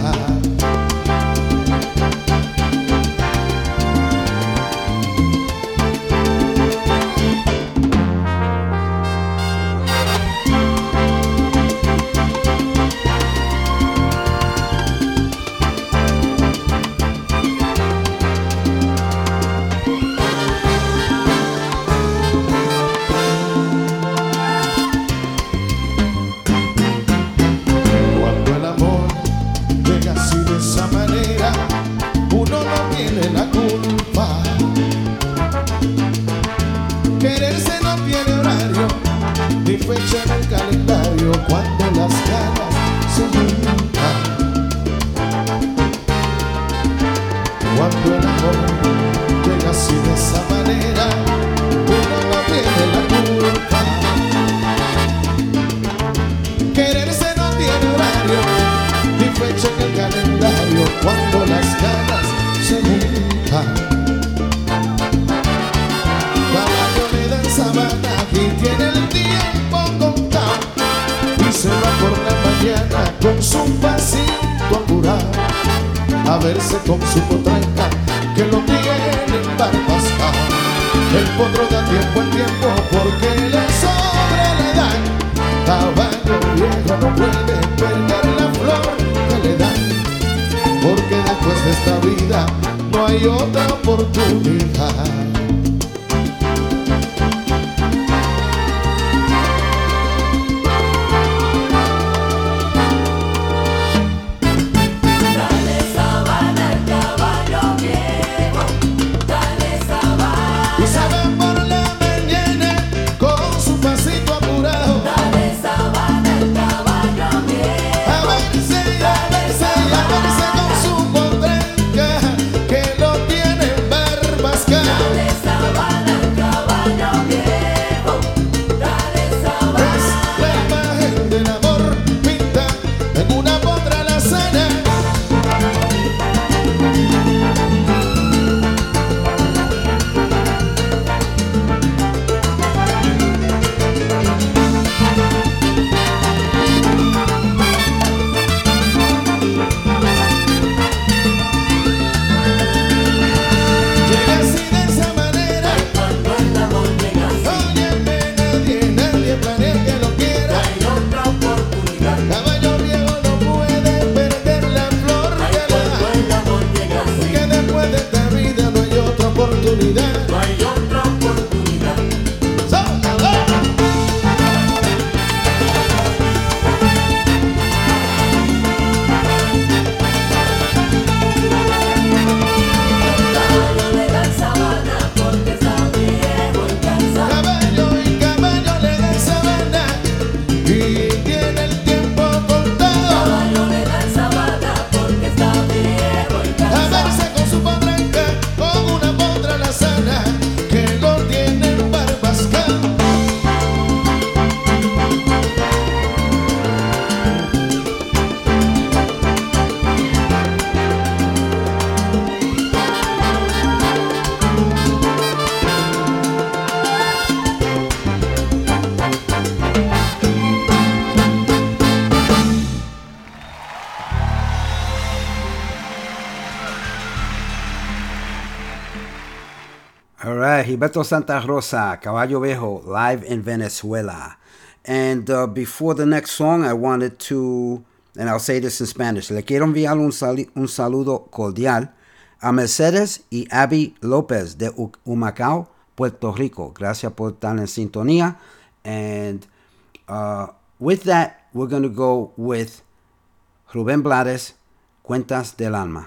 Fecha en el calendario cuando las ganas se juntan. Cuando el amor llega así de esa manera, uno no tiene la culpa. Quererse no tiene horario ni fecha en el calendario cuando las ganas se juntan. Caballo le dan sabana y tiene el tiempo contado y se va por la mañana con su pasito apurado a verse con su potranca que lo tiene embarbascado. El potro da tiempo al tiempo porque le sobra la edad. Caballo viejo no puede perder la flor que le dan, porque después de esta vida no hay otra oportunidad. Que lo tiene embarbascado. right, Gilberto Santa Rosa, Caballo Viejo, live in Venezuela. And uh, before the next song, I wanted to, and I'll say this in Spanish, le quiero enviar un, sal- un saludo cordial a Mercedes y Abby López de U- Humacao, Puerto Rico. Gracias por estar en sintonía. And uh, with that, we're going to go with Rubén Blades, Cuentas del Alma.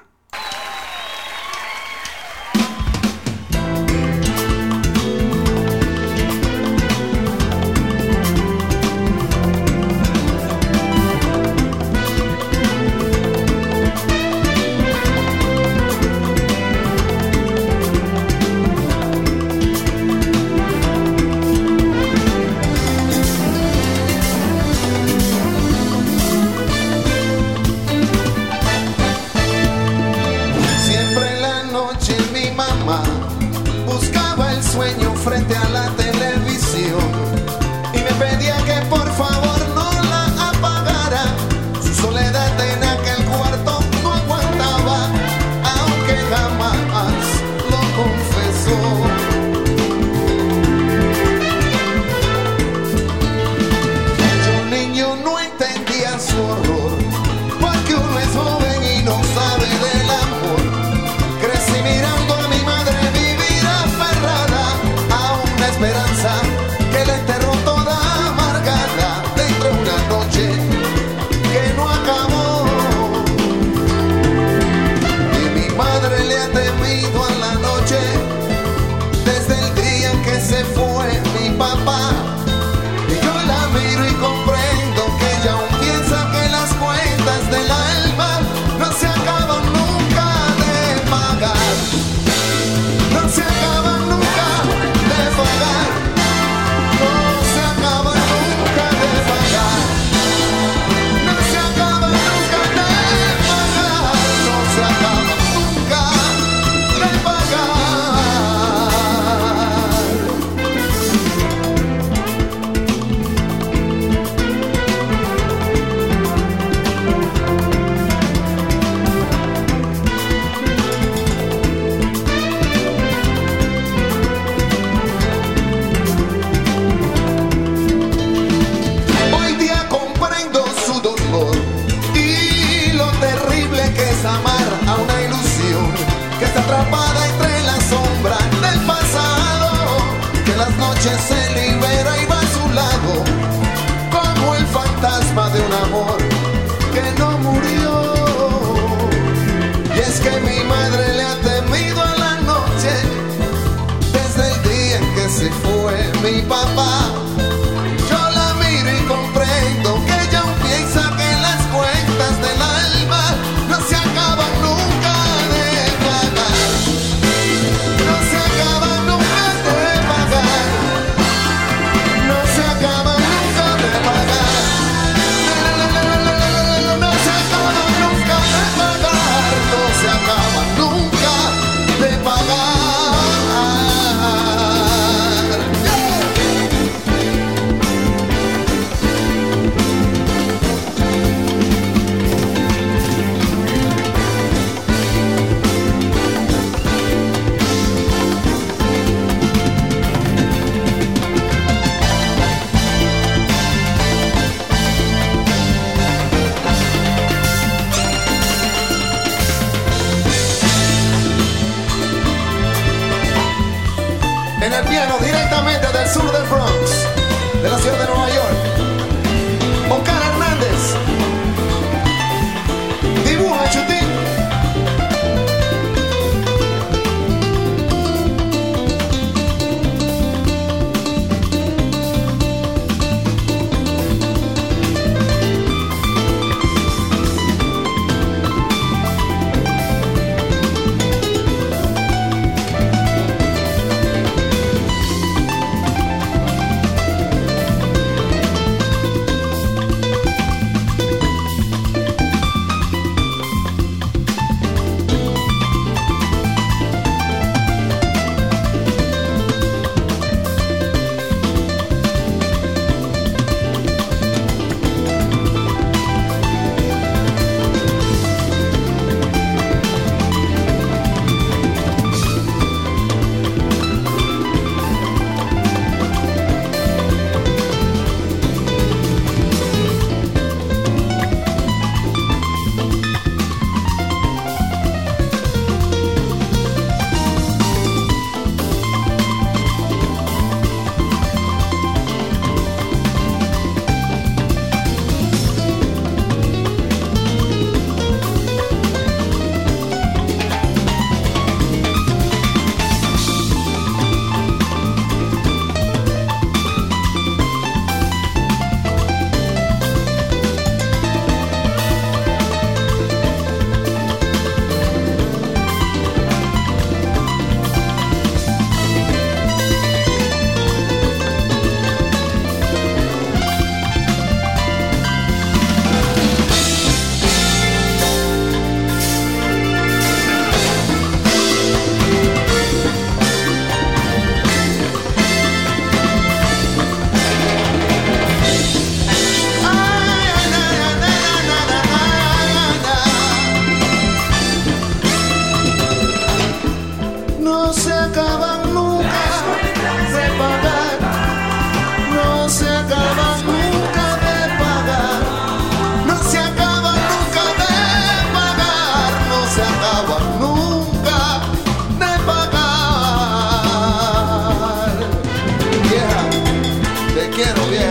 vieja.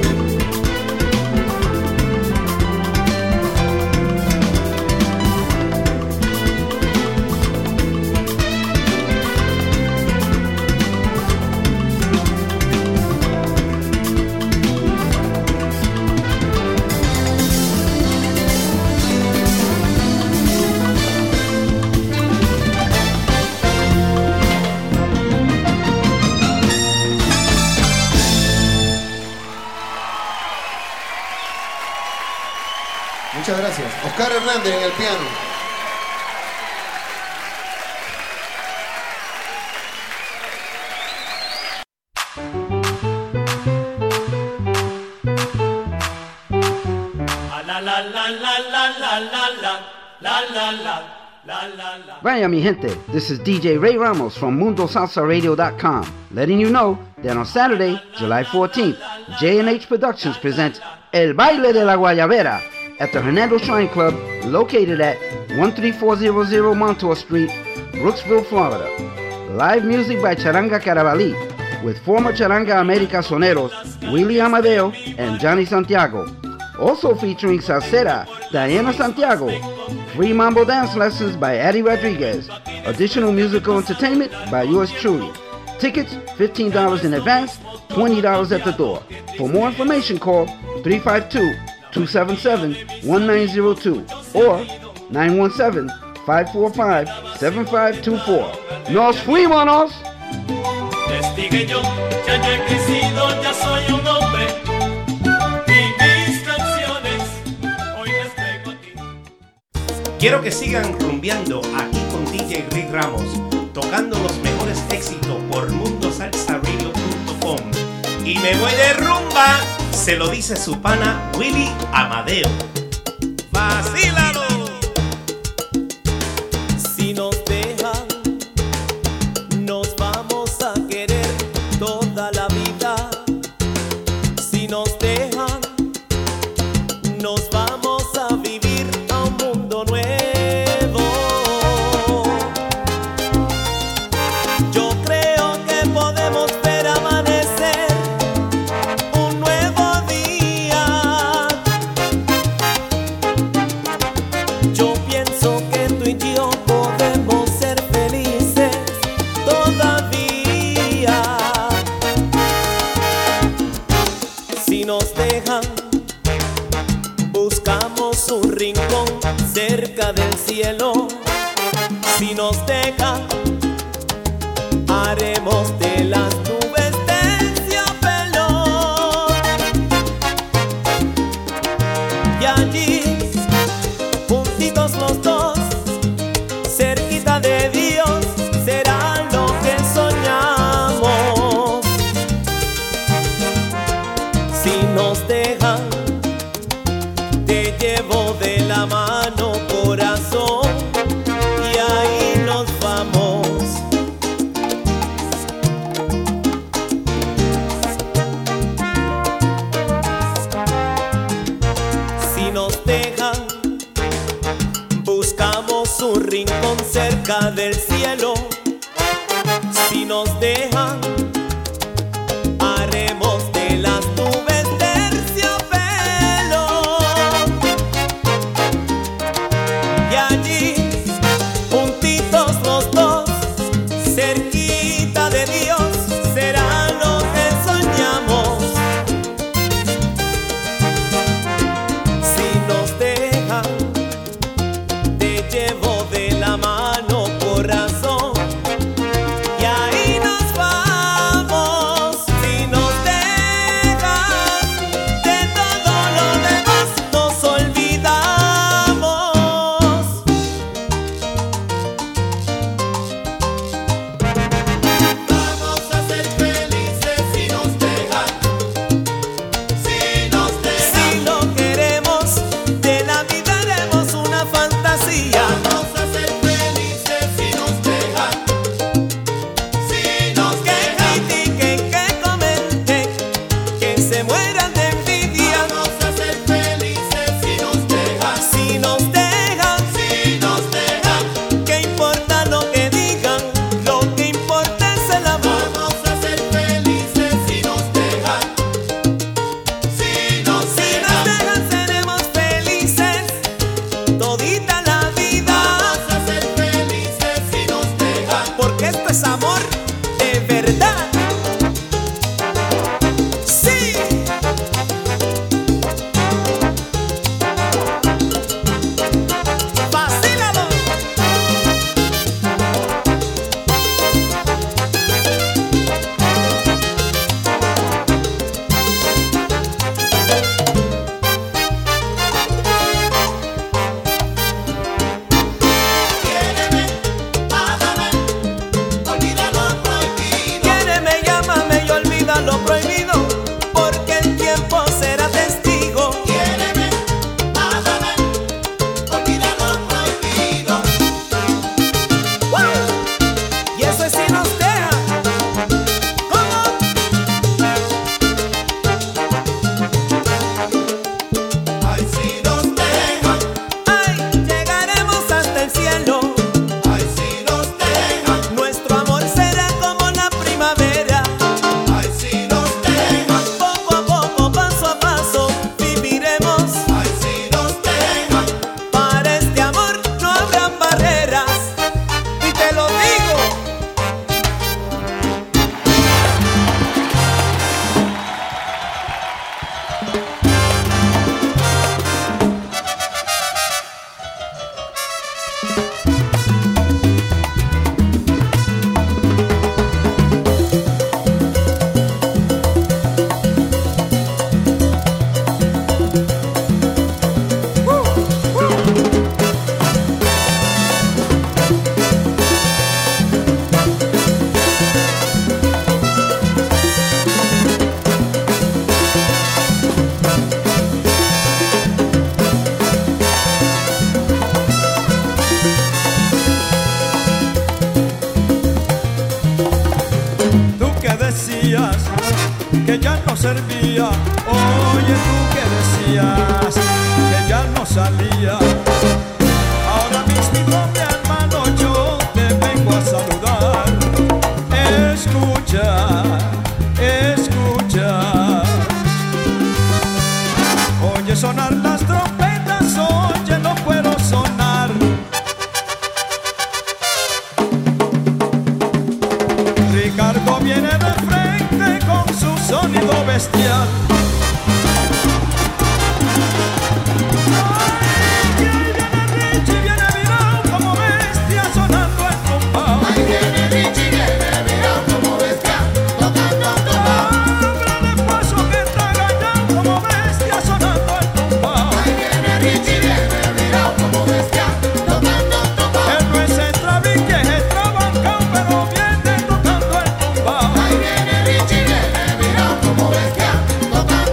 Muchas gracias. Oscar Hernández en el piano. La la la la la la la la la la la la la la. Vaya mi gente, this is D J Ray Ramos from Mundo Salsa Radio dot com, letting you know that on Saturday, July fourteenth, J and H Productions presents El Baile de la Guayabera at the Hernando Shrine Club, located at one three four zero zero Montour Street, Brooksville, Florida. Live music by Charanga Carabalí, with former Charanga America soneros Willie Amadeo and Johnny Santiago. Also featuring salsera Diana Santiago. Free mambo dance lessons by Addie Rodriguez. Additional musical entertainment by yours truly. Tickets fifteen dollars in advance, twenty dollars at the door. For more information, call three five two, two seven seven, one nine zero two or nine one seven, five four five, seven five two four. ¡Nos fuimos! Testigue yo, ya yo he crecido, ya soy un hombre. Y mis canciones hoy les traigo a ti. Quiero que sigan rumbeando aquí con D J Rick Ramos, tocando los mejores éxitos por mundo salsa radio punto com. Y me voy de rumba, se lo dice su pana Willie Amadeo. ¡Vacílalo! Si nos dejan, nos vamos a querer toda la vida. Si nos dejan, nos vamos a vivir a un mundo nuevo. Yo creo que podemos ver amanecer un nuevo día. Yo pienso que tú y yo podemos ser felices todavía. Si nos dejan, buscamos un rincón cerca del cielo. Si nos dejan, haremos de las nubes terciopelo. Y allí, juntitos los dos, cerquita de Dios, será lo que soñamos. Si nos dejan, te llevo de la mano, corazón, y ahí nos vamos. Si nos dejan, buscamos un rincón cerca del cielo. Si nos dejan, haremos de las nubes terciopelo. Y allí, juntitos los dos, cerquita de Dios, será lo que soñamos. Si nos dejan, te llevo de la mano, corazón, y ahí nos vamos. Si nos dejan, de todo lo demás nos olvidamos. Vamos a ser felices si nos dejan. Si nos dejan. Si lo queremos, de la vida haremos una fantasía. Vamos a ser felices si nos dejan. Si nos Que dejan. critiquen, que comenten, que se mueran de envidia. Vamos a ser felices si nos dejan. Si nos dejan, Si nos dejan. ¿qué importa lo que digan? Lo que importa es el amor. Vamos a ser felices si nos dejan. servía. Oye, tú que decías que ya no salía. Ahora mismo, mi hermano, yo te vengo a saludar. Escucha, escucha. Oye sonar las trompetas, oye, no puedo sonar. Ricardo viene de frente con su sonido bestial. Ay, viene Richie, viene virado como bestia sonando el compás. Ay, viene Richie, viene virado como bestia tocando el compás. Hombre de paso que está engañado como bestia sonando el compás. Ay, viene Richie, viene virado como bestia tocando el compás. Él no es extravique, es extravancado, pero viene tocando el compás. Ay, viene Richie, viene virado como bestia tocando el compás.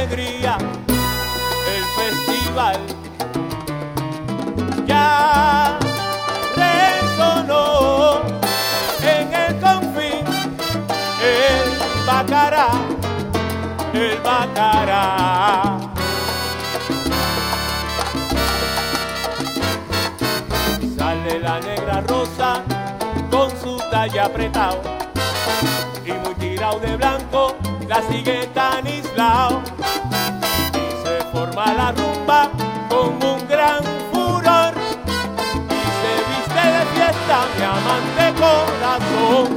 alegría el festival. Ya resonó en el confín el bacará, el bacará. Sale la negra rosa con su talle apretado y muy tirado de blanco, la sigue tan aislado. Y se forma la rumba con un gran furor y se viste de fiesta mi amante corazón.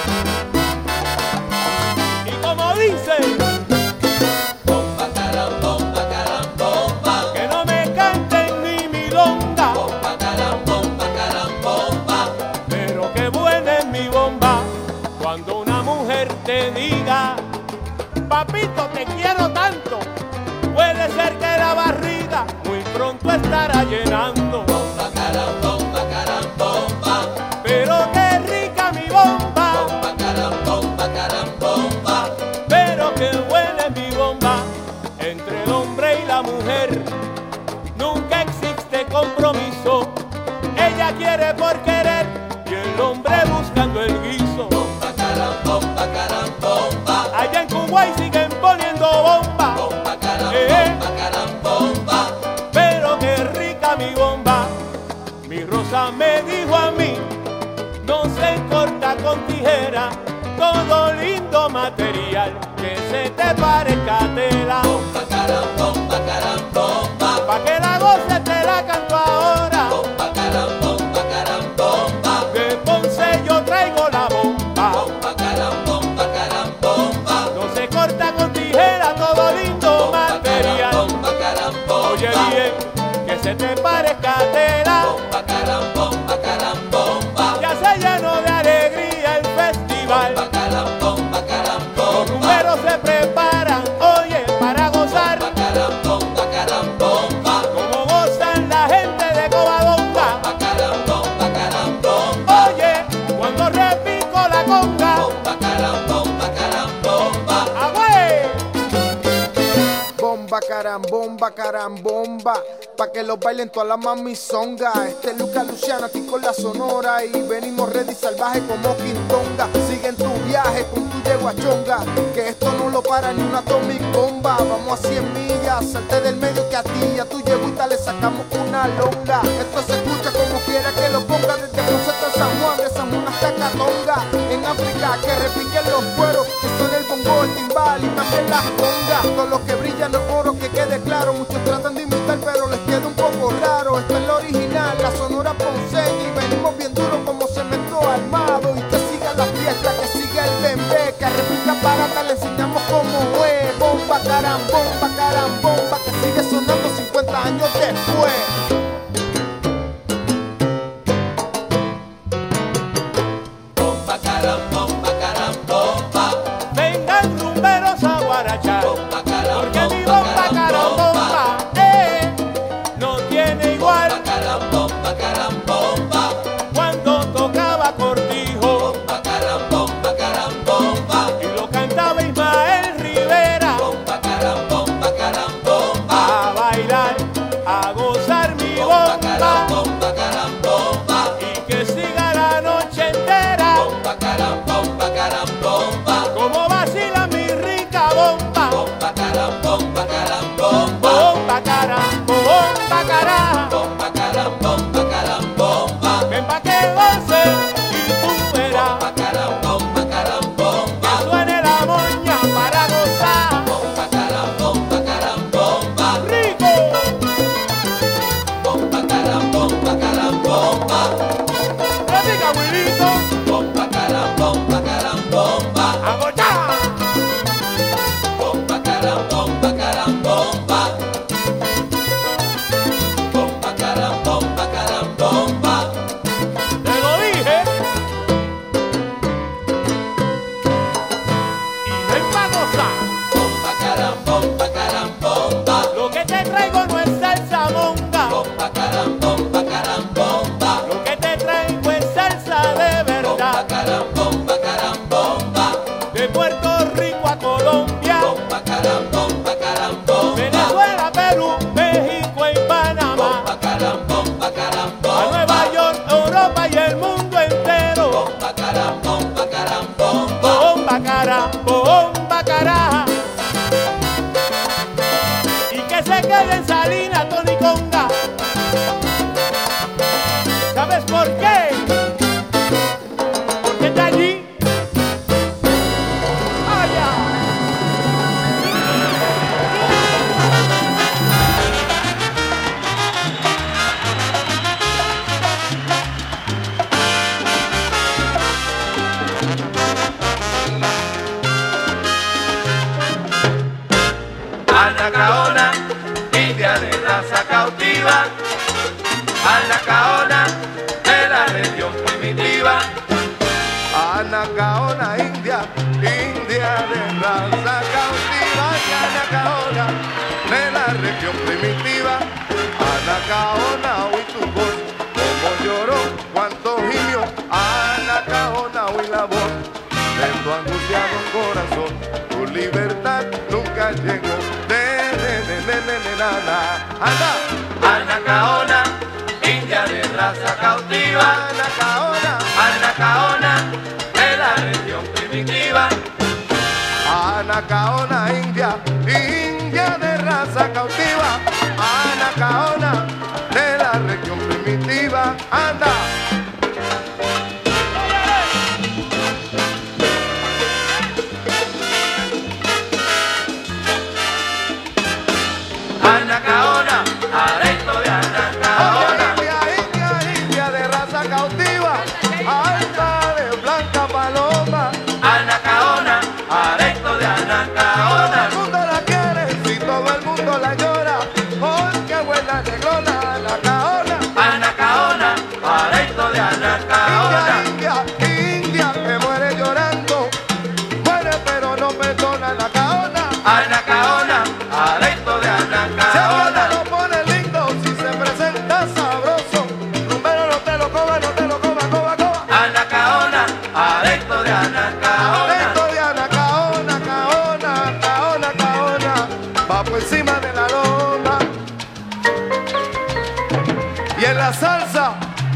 Y como dice, bomba, caram, bomba, caram, bomba, que no me canten ni milonga. Bomba, caram, bomba, caram, bomba, pero qué buena es mi bomba cuando una mujer te diga, papito, te quiero tanto. Puede ser que la barriga muy pronto estará llenando. Bomba, caram, bomba, caram, bomba, pero qué rica mi bomba. Bomba, caram, bomba, caram, bomba, pero qué buena es mi bomba. Entre el hombre y la mujer nunca existe compromiso. Ella quiere por querer y el hombre buscando el guiso. Bomba, caram, bomba, caram, bomba, allá en Kuwait siguen poniendo bomba. Bomba, caram, eh, bomba, caram, bomba, pero qué rica mi bomba. Mi Rosa me dijo a mí, no se corta con tijera, todo lindo material que se te parezca tela. Bomba, caram, bomba, caram, bomba, pa' que la goce te la canto ahora. Bomba, caram, bomba, caram, bomba, de Ponce yo traigo la bomba. Bomba, caram, bomba, caram, bomba, no se corta con tijera, todo lindo material. Bomba, caram, bomba, oye bien, que se te parezca tela. Bomba, caram, bomba, caram, bomba, ya se llenó de alegría el festival. Bomba, caram, bomba, caram, bomba, los rumberos se preparan, oye, para gozar. Bomba, caram, bomba, caram, bomba, como gozan la gente de Covadonga. Bomba, caram, bomba, caram, bomba, oye, cuando repico la conga. Bomba, caram, bomba, caram, bomba, agüey. Bomba, caram, bomba, caram, bomba, pa' que los bailen todas las mamizonga. Este es Luca Luciano aquí con la Sonora y venimos ready salvaje como Quintonga. Sigue en tu viaje con tu yeguachonga, que esto no lo para ni una atomic bomba. Vamos a cien millas, salte del medio que a ti y a tu yeguita le sacamos una longa. Esto se escucha como quiera que lo ponga, desde Ponce hasta San Juan, de San Juan hasta Catonga. En África que repiquen los cueros, que son el bongo, el timbal y también las congas. Todos los que brillan los oro, que quede claro, muchos tratan de imitar pero les queda un poco raro. Esta es la original, la Sonora ponceña, y venimos bien duro como cemento armado. Y que siga la fiesta, que siga el bembé, que a República Barata le enseñamos cómo es. Bomba, caram, bomba, caram, bomba, que sigue sonando cincuenta años después. Bomba, caram, bomba, caram, bomba, vengan rumberos a guarachar. Bomba, caram, porque mi bomba, caram, bomba, eh, no tiene igual. Bomba, caram, bomba, caram, bomba, cuando tocaba Cortijo. Bomba, caram, bomba, caram, bomba, y lo cantaba Ismael Rivera. Bomba, caram, bomba, caram, bomba, a bailar, a gozar mi bomba. Bomba, caram, bomba, caram, bomba, y que siga la noche entera. Bomba, caram, bomba, caram, bomba, como vacila mi rica bomba. Bomba, queda en Salina, Tony Conga. ¿Sabes por qué? Porque está allí. Allá. Anacaona, india de raza cautiva, Anacaona de la región primitiva. Anacaona, india, india de raza cautiva, y Anacaona de la región primitiva. Anacaona, oí tu voz, como lloró, cuánto gimió. Anacaona, oí la voz de tu angustiado corazón. Tu libertad nunca llegó. De, de, de, de, de, de, na, na. Anda. Anacaona, india de raza cautiva, Anacaona, Anacaona de la región primitiva. Anacaona, india, india de raza cautiva. Anacaona de la región primitiva. Anda. Anacaona, aresto de Anacaona. India, india, india de raza cautiva, alta de blanca paloma. Anacaona, aresto de Anacaona. Todo el mundo la quiere, si todo el mundo la llora, porque buena negrona, Anacaona. Anacaona, aresto de Anacaona. India, india, india, que muere llorando, muere pero no perdona, Anacaona. Anacaona, aresto de Anacaona. Se lo pone lindo si se presenta sabroso. Rumbero, no te lo coma, no te lo coma, coma, coma. Anacaona, aresto de Anacaona. Aresto de Anacaona, Caona, Caona, Caona. Va por encima de la loma. Y en la salsa.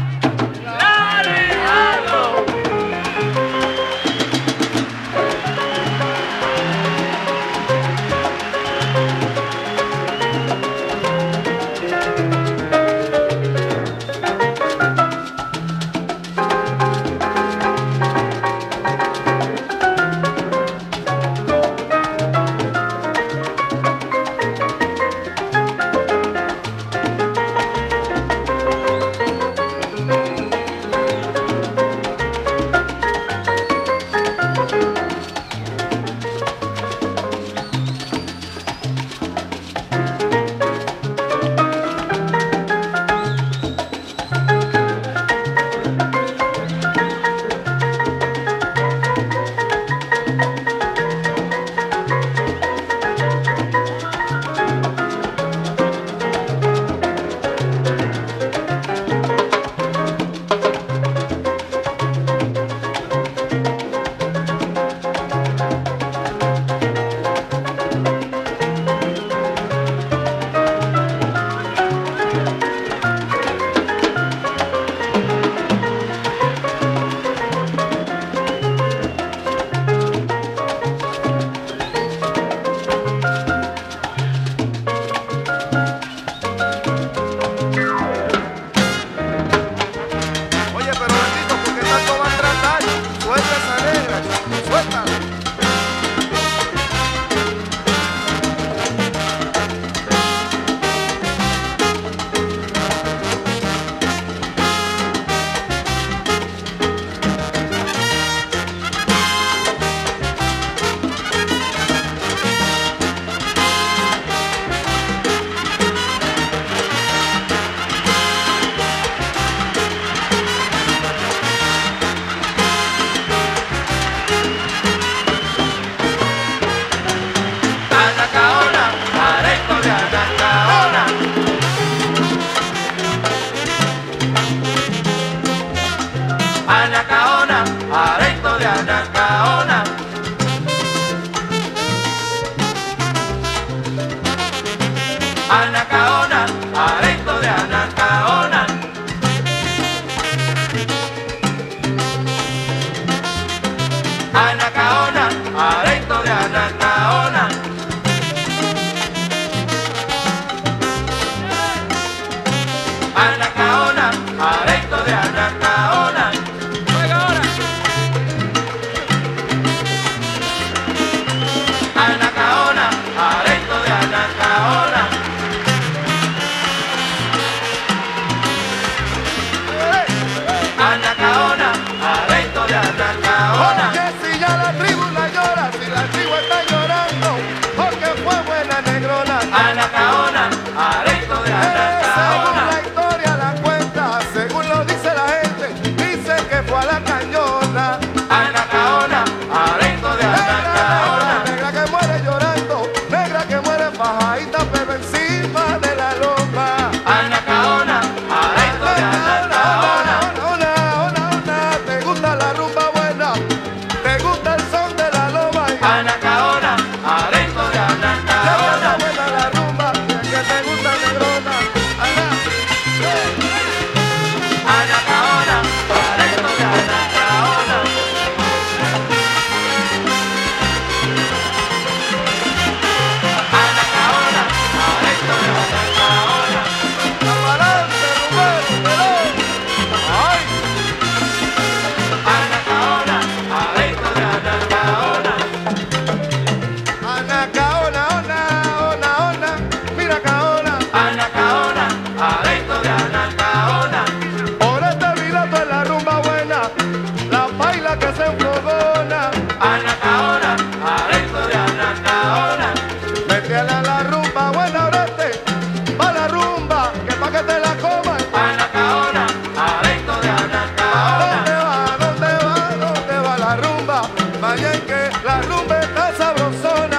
Anacaona, aresto de Anacaona. Anacaona, aresto de Anacaona. fue buena negrona. Anacaona, areito de Anacaona. Según la historia la cuenta, según lo dice la gente, dice que fue a la cañona. Anacaona, areito de Anacaona. Negra que muere llorando, negra que muere fajadita, pero encima de la loma. Anacaona, areito de Anacaona. Ona, ona, ona, te gusta la rumba buena, te gusta el son de la loma. Anacaona, areito de Anacaona. Buena la rumba, que te gusta negrona. Anacaona, areito de Anacaona. Anacaona, areito de Anacaona. Amarante, Rubén, Perón. Ay. Anacaona, areito de Anacaona. Anacaona, ona, ona, ona, mira caona. Anacaona, areito de Anacaona. Por este virato es la rumba buena, la baila que se enfogona. Anacaona, areito de Anacaona. Métele a la rumba buena, orete, pa' la rumba, que pa' que te la coman. Anacaona, areito de Anacaona. ¿Dónde va, dónde va, dónde va la rumba? Mañana que la rumba está sabrosona.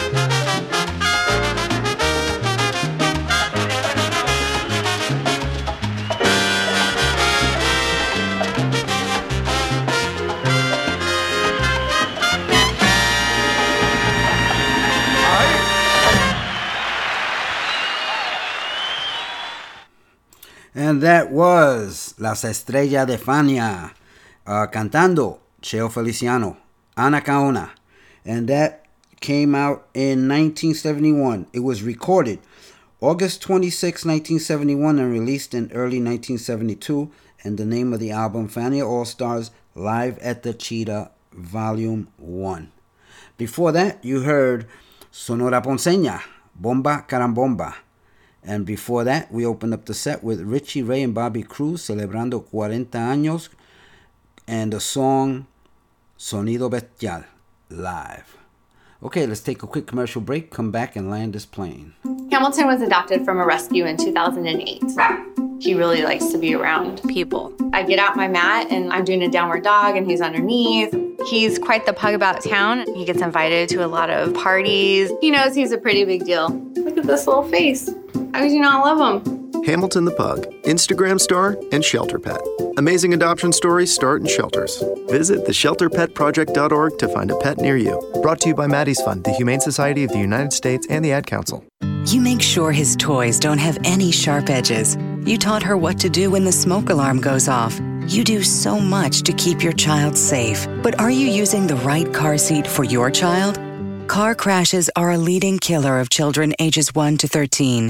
And that was Las Estrellas de Fania uh, cantando Cheo Feliciano, Anacaona. And that came out in nineteen seventy-one. It was recorded August twenty-sixth, nineteen seventy-one and released in early nineteen seventy-two. And the name of the album, Fania All-Stars Live at the Cheetah Volume one. Before that, you heard Sonora Ponceña, Bomba Carambomba. And before that, we opened up the set with Richie Ray and Bobby Cruz, Celebrando cuarenta años, and the song Sonido Bestial, live. Okay, let's take a quick commercial break, come back and land this plane. Hamilton was adopted from a rescue in two thousand eight. He really likes to be around people. I get out my mat and I'm doing a downward dog and he's underneath. He's quite the pug about town. He gets invited to a lot of parties. He knows he's a pretty big deal. Look at this little face. How could you not love him? Hamilton the Pug, Instagram star and shelter pet. Amazing adoption stories start in shelters. Visit the shelter pet project dot org to find a pet near you. Brought to you by Maddie's Fund, the Humane Society of the United States, and the Ad Council. You make sure his toys don't have any sharp edges. You taught her what to do when the smoke alarm goes off. You do so much to keep your child safe. But are you using the right car seat for your child? Car crashes are a leading killer of children ages one to thirteen.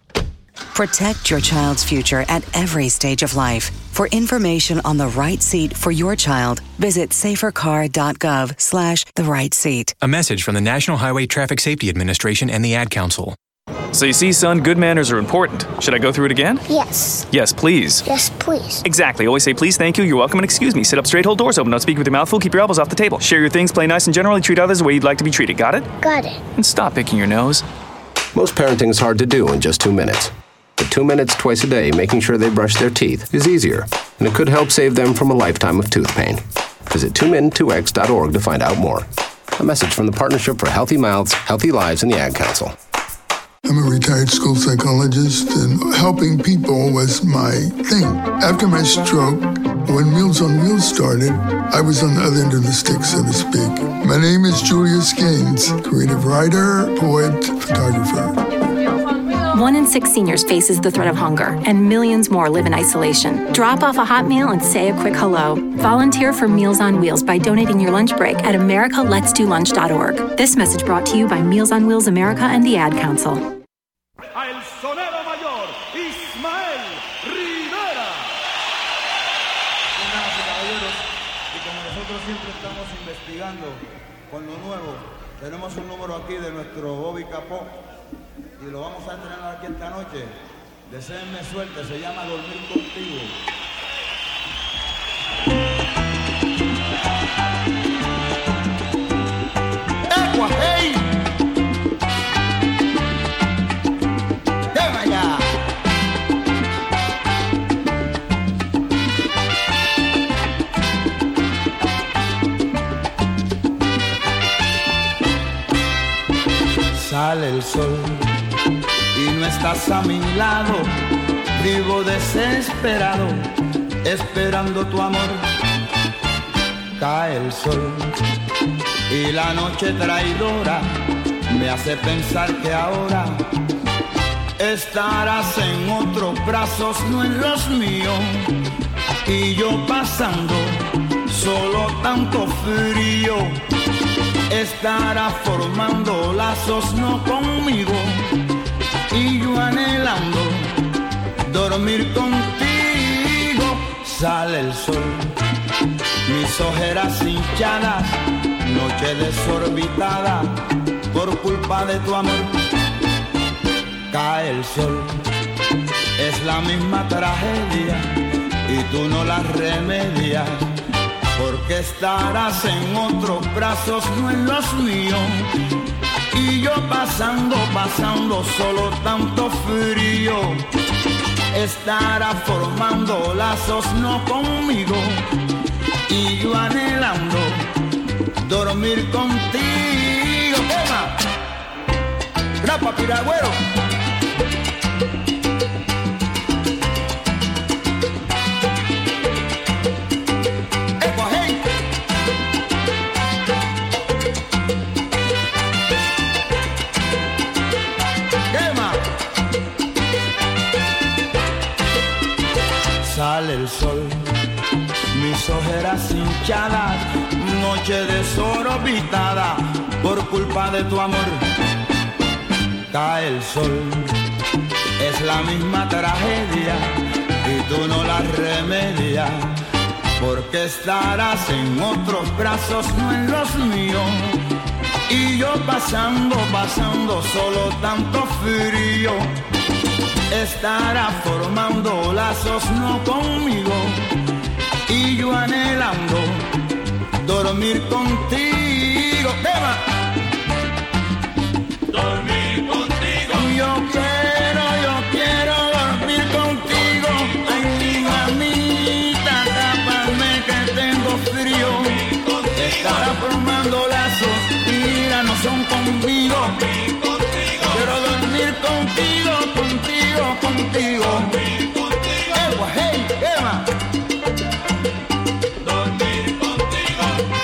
Protect your child's future at every stage of life. For information on the right seat for your child, visit safercar.gov slash the right seat. A message from the National Highway Traffic Safety Administration and the Ad Council. So you see, son, good manners are important. Should I go through it again? Yes. Yes, please. Yes, please. Exactly. Always say please, thank you, you're welcome, and excuse me. Sit up straight, hold doors open, don't speak with your mouth full, keep your elbows off the table. Share your things, play nice, and generally treat others the way you'd like to be treated. Got it? Got it. And stop picking your nose. Most parenting is hard to do in just two minutes. But two minutes twice a day making sure they brush their teeth is easier, and it could help save them from a lifetime of tooth pain. Visit two min two x dot org to find out more. A message from the Partnership for Healthy Mouths, Healthy Lives, and the Ad Council. I'm a retired school psychologist, and helping people was my thing. After my stroke, when Meals on Wheels started, I was on the other end of the stick, so to speak. My name is Julius Gaines, creative writer, poet, photographer. One in six seniors faces the threat of hunger, and millions more live in isolation. Drop off a hot meal and say a quick hello. Volunteer for Meals on Wheels by donating your lunch break at america lets do lunch dot org. This message brought to you by Meals on Wheels America and the Ad Council. El sonero mayor, Ismael Rivera. Damas y caballeros, y como nosotros siempre estamos investigando con lo nuevo, tenemos un número aquí de nuestro Bobby Capó y lo vamos a estrenar aquí esta noche. Deseenme suerte, se llama Dormir Contigo. Agua, hey. el sol y no estás a mi lado, vivo desesperado, esperando tu amor. Cae el sol y la noche traidora me hace pensar que ahora estarás en otros brazos, no en los míos, y yo pasando solo tanto frío. Estarás formando lazos no conmigo, y yo anhelando dormir contigo. Sale el sol, mis ojeras hinchadas, noche desorbitada por culpa de tu amor. Cae el sol, es la misma tragedia y tú no la remedias, porque estarás en otros brazos, no en los míos, y yo pasando, pasando solo tanto frío. Estarás formando lazos no conmigo, y yo anhelando dormir contigo. ¡Tema! ¡Rapa, piragüero! Sale el sol, mis ojeras hinchadas, noche desorbitada por culpa de tu amor. Cae el sol, es la misma tragedia y tú no la remedias, porque estarás en otros brazos, no en los míos, y yo pasando, pasando solo tanto frío. Estarás formando lazos no conmigo, y yo anhelando dormir contigo. ¡Tema! Dormir contigo. Yo quiero, yo quiero dormir contigo. Ay, mi mamita, tápame que tengo frío. Estarás formando lazos, mira, no son conmigo. Quiero dormir contigo, contigo, contigo. Dormir contigo. Eh, hey, Emma. Dormir contigo.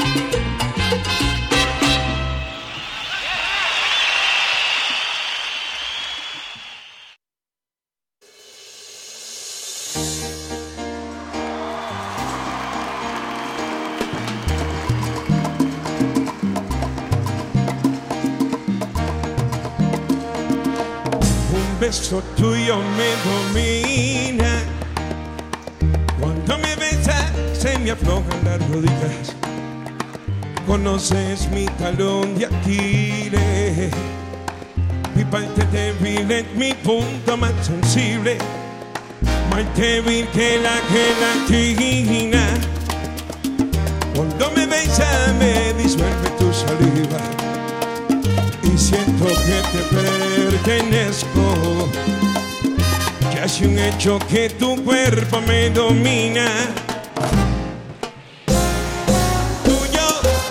Un beso tuyo me domina. Cuando me besas se me aflojan las rodillas. Conoces mi talón de Aquiles, mi parte débil es mi punto más sensible, más débil que la gelatina. Cuando me besas me disuelve tu saliva y siento que te pertenezco. Ya es un hecho que tu cuerpo me domina. Tuyo,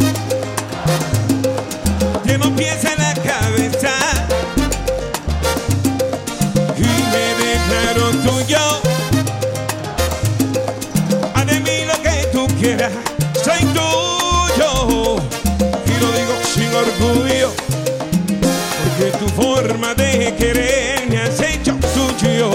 llevo pies en la cabeza y me declaro tuyo. Haz de mí lo que tú quieras, soy tuyo, y lo digo sin orgullo, porque tu forma de querer me has hecho tuyo.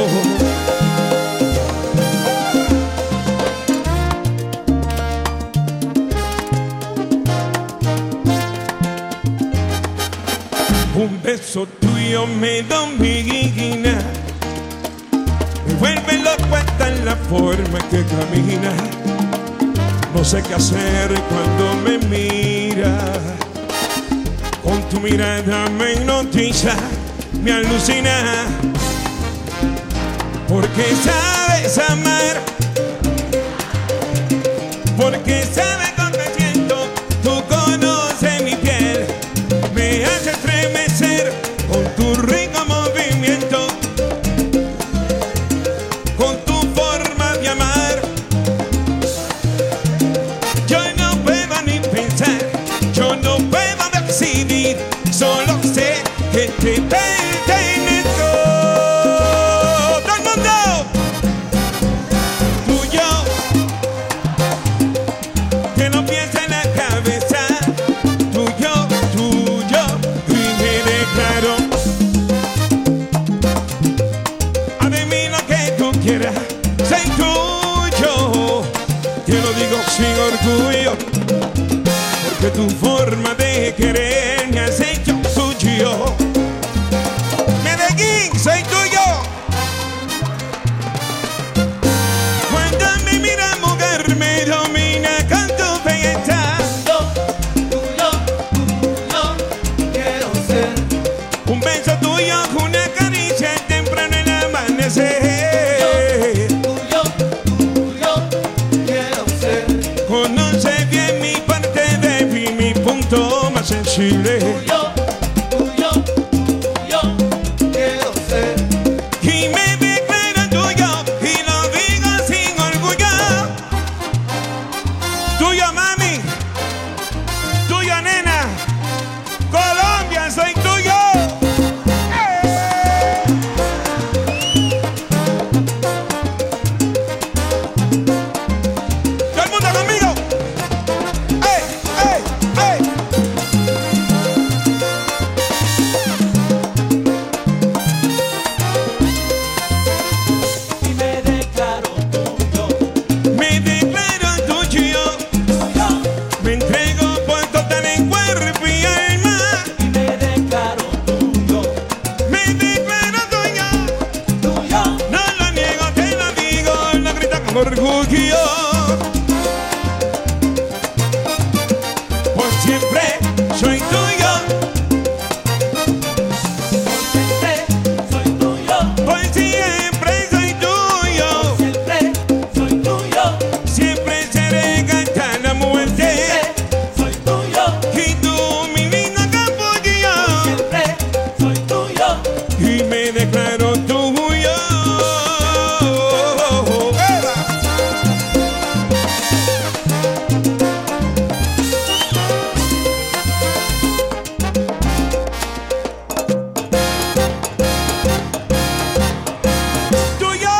Un beso tuyo me domina, me vuelve loco hasta en la forma que camina. No sé qué hacer cuando me miras. Con tu mirada me hipnotiza, me alucina, porque sabes amar, porque sabes cuando me siento. Tú conoces mi piel, me hace estremecer con tu rico movimiento, con tu forma de amar. Yo no puedo ni pensar, yo no puedo decidir, solo sé que te veo. pertenezco. Todo el mundo. Tuyo. Que no piensa en la cabeza. Tuyo, tuyo. Y me declaro. Adivina que tú quieras. Soy tuyo. Te lo digo sin orgullo. Porque tu forma de querer me has hecho suyo. Medellín, soy tuyo. Cuando me miras, mujer, me domina con tu belleza. Tuyo, tuyo, quiero ser. Un beso tuyo, una caricia temprano en el amanecer. Tuyo, tuyo, quiero ser. Conoce bien mi parte débil, mi punto más sensible. Tuyo, tuyo, tuyo, quiero ser. Y me declaro tuyo y lo digo sin orgullo. Tuyo, mami. Tuyo, nena. Colombia, soy tuyo. Todo el mundo conmigo. ¡Ey, ey, ey! Y me declaro tuyo. Me declaro tuyo. Me entrego por total en cuerpo y alma. Y me declaro tuyo. Me declaro tuyo. Tuyo. No lo niego, te lo digo, lo grito con orgullo. Por siempre soy tuyo. Por siempre soy tuyo. Siempre soy tuyo. Siempre seré cantar la muerte. Soy tuyo. Y tú, mi lindo capullo. Siempre soy tuyo. Y me declaro tuyo. ¡Eva! Tuyo.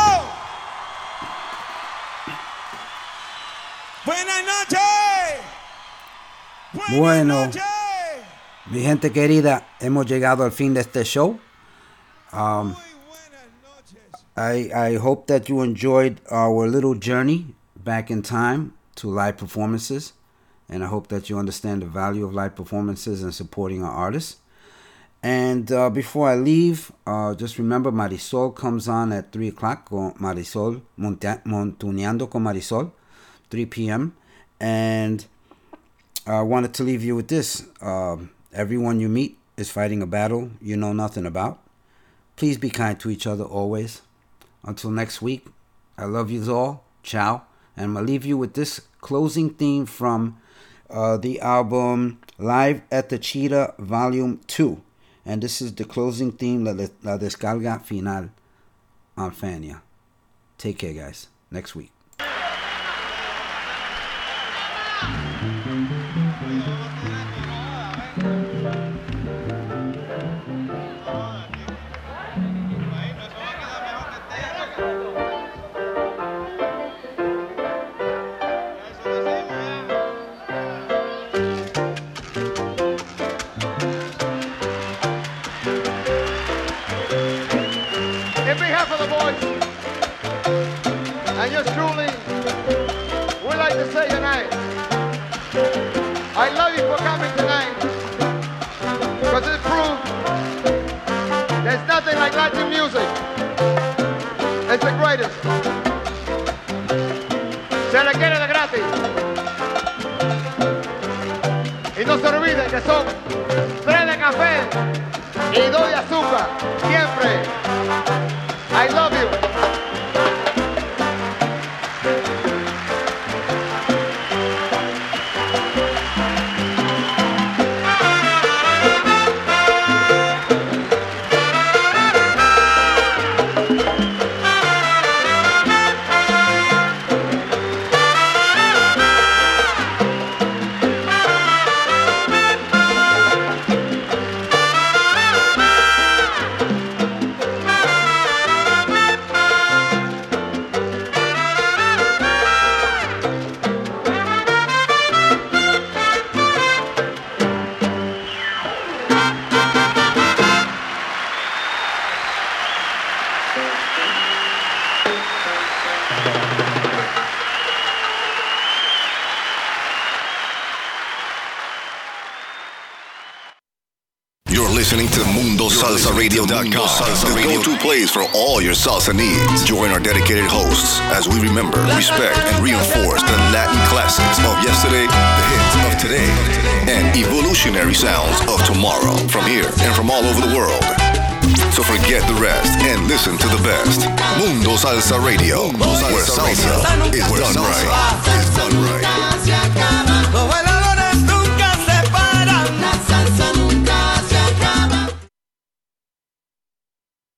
Buenas noches. Bueno, mi gente querida, hemos llegado al fin de este show. Um, I, I hope that you enjoyed our little journey back in time to live performances. And I hope that you understand the value of live performances and supporting our artists. And uh, before I leave, uh, just remember Marisol comes on at three o'clock. Con Marisol, Monta- Montuneando con Marisol, three p.m. And I wanted to leave you with this. Uh, everyone you meet is fighting a battle you know nothing about. Please be kind to each other always. Until next week, I love you all. Ciao. And I'm going to leave you with this closing theme from uh, the album Live at the Cheetah Volume two. And this is the closing theme, La, la Descarga Final on Fania. Take care, guys. Next week. In behalf of the boys and yours truly, we'd like to say tonight, I love you for coming tonight, because it proves there's nothing like Latin music. It's the greatest. Se le quiere de gratis. Y no se olviden que son tres de café y dos de azúcar, siempre. I love you. listening to Mundo Salsa Radio dot com, the go-to place for all your salsa needs. Join our dedicated hosts as we remember, respect, and reinforce the Latin classics of yesterday, the hits of today, and evolutionary sounds of tomorrow from here and from all over the world. So forget the rest and listen to the best. Mundo Salsa Radio, where salsa is done right. Is done right.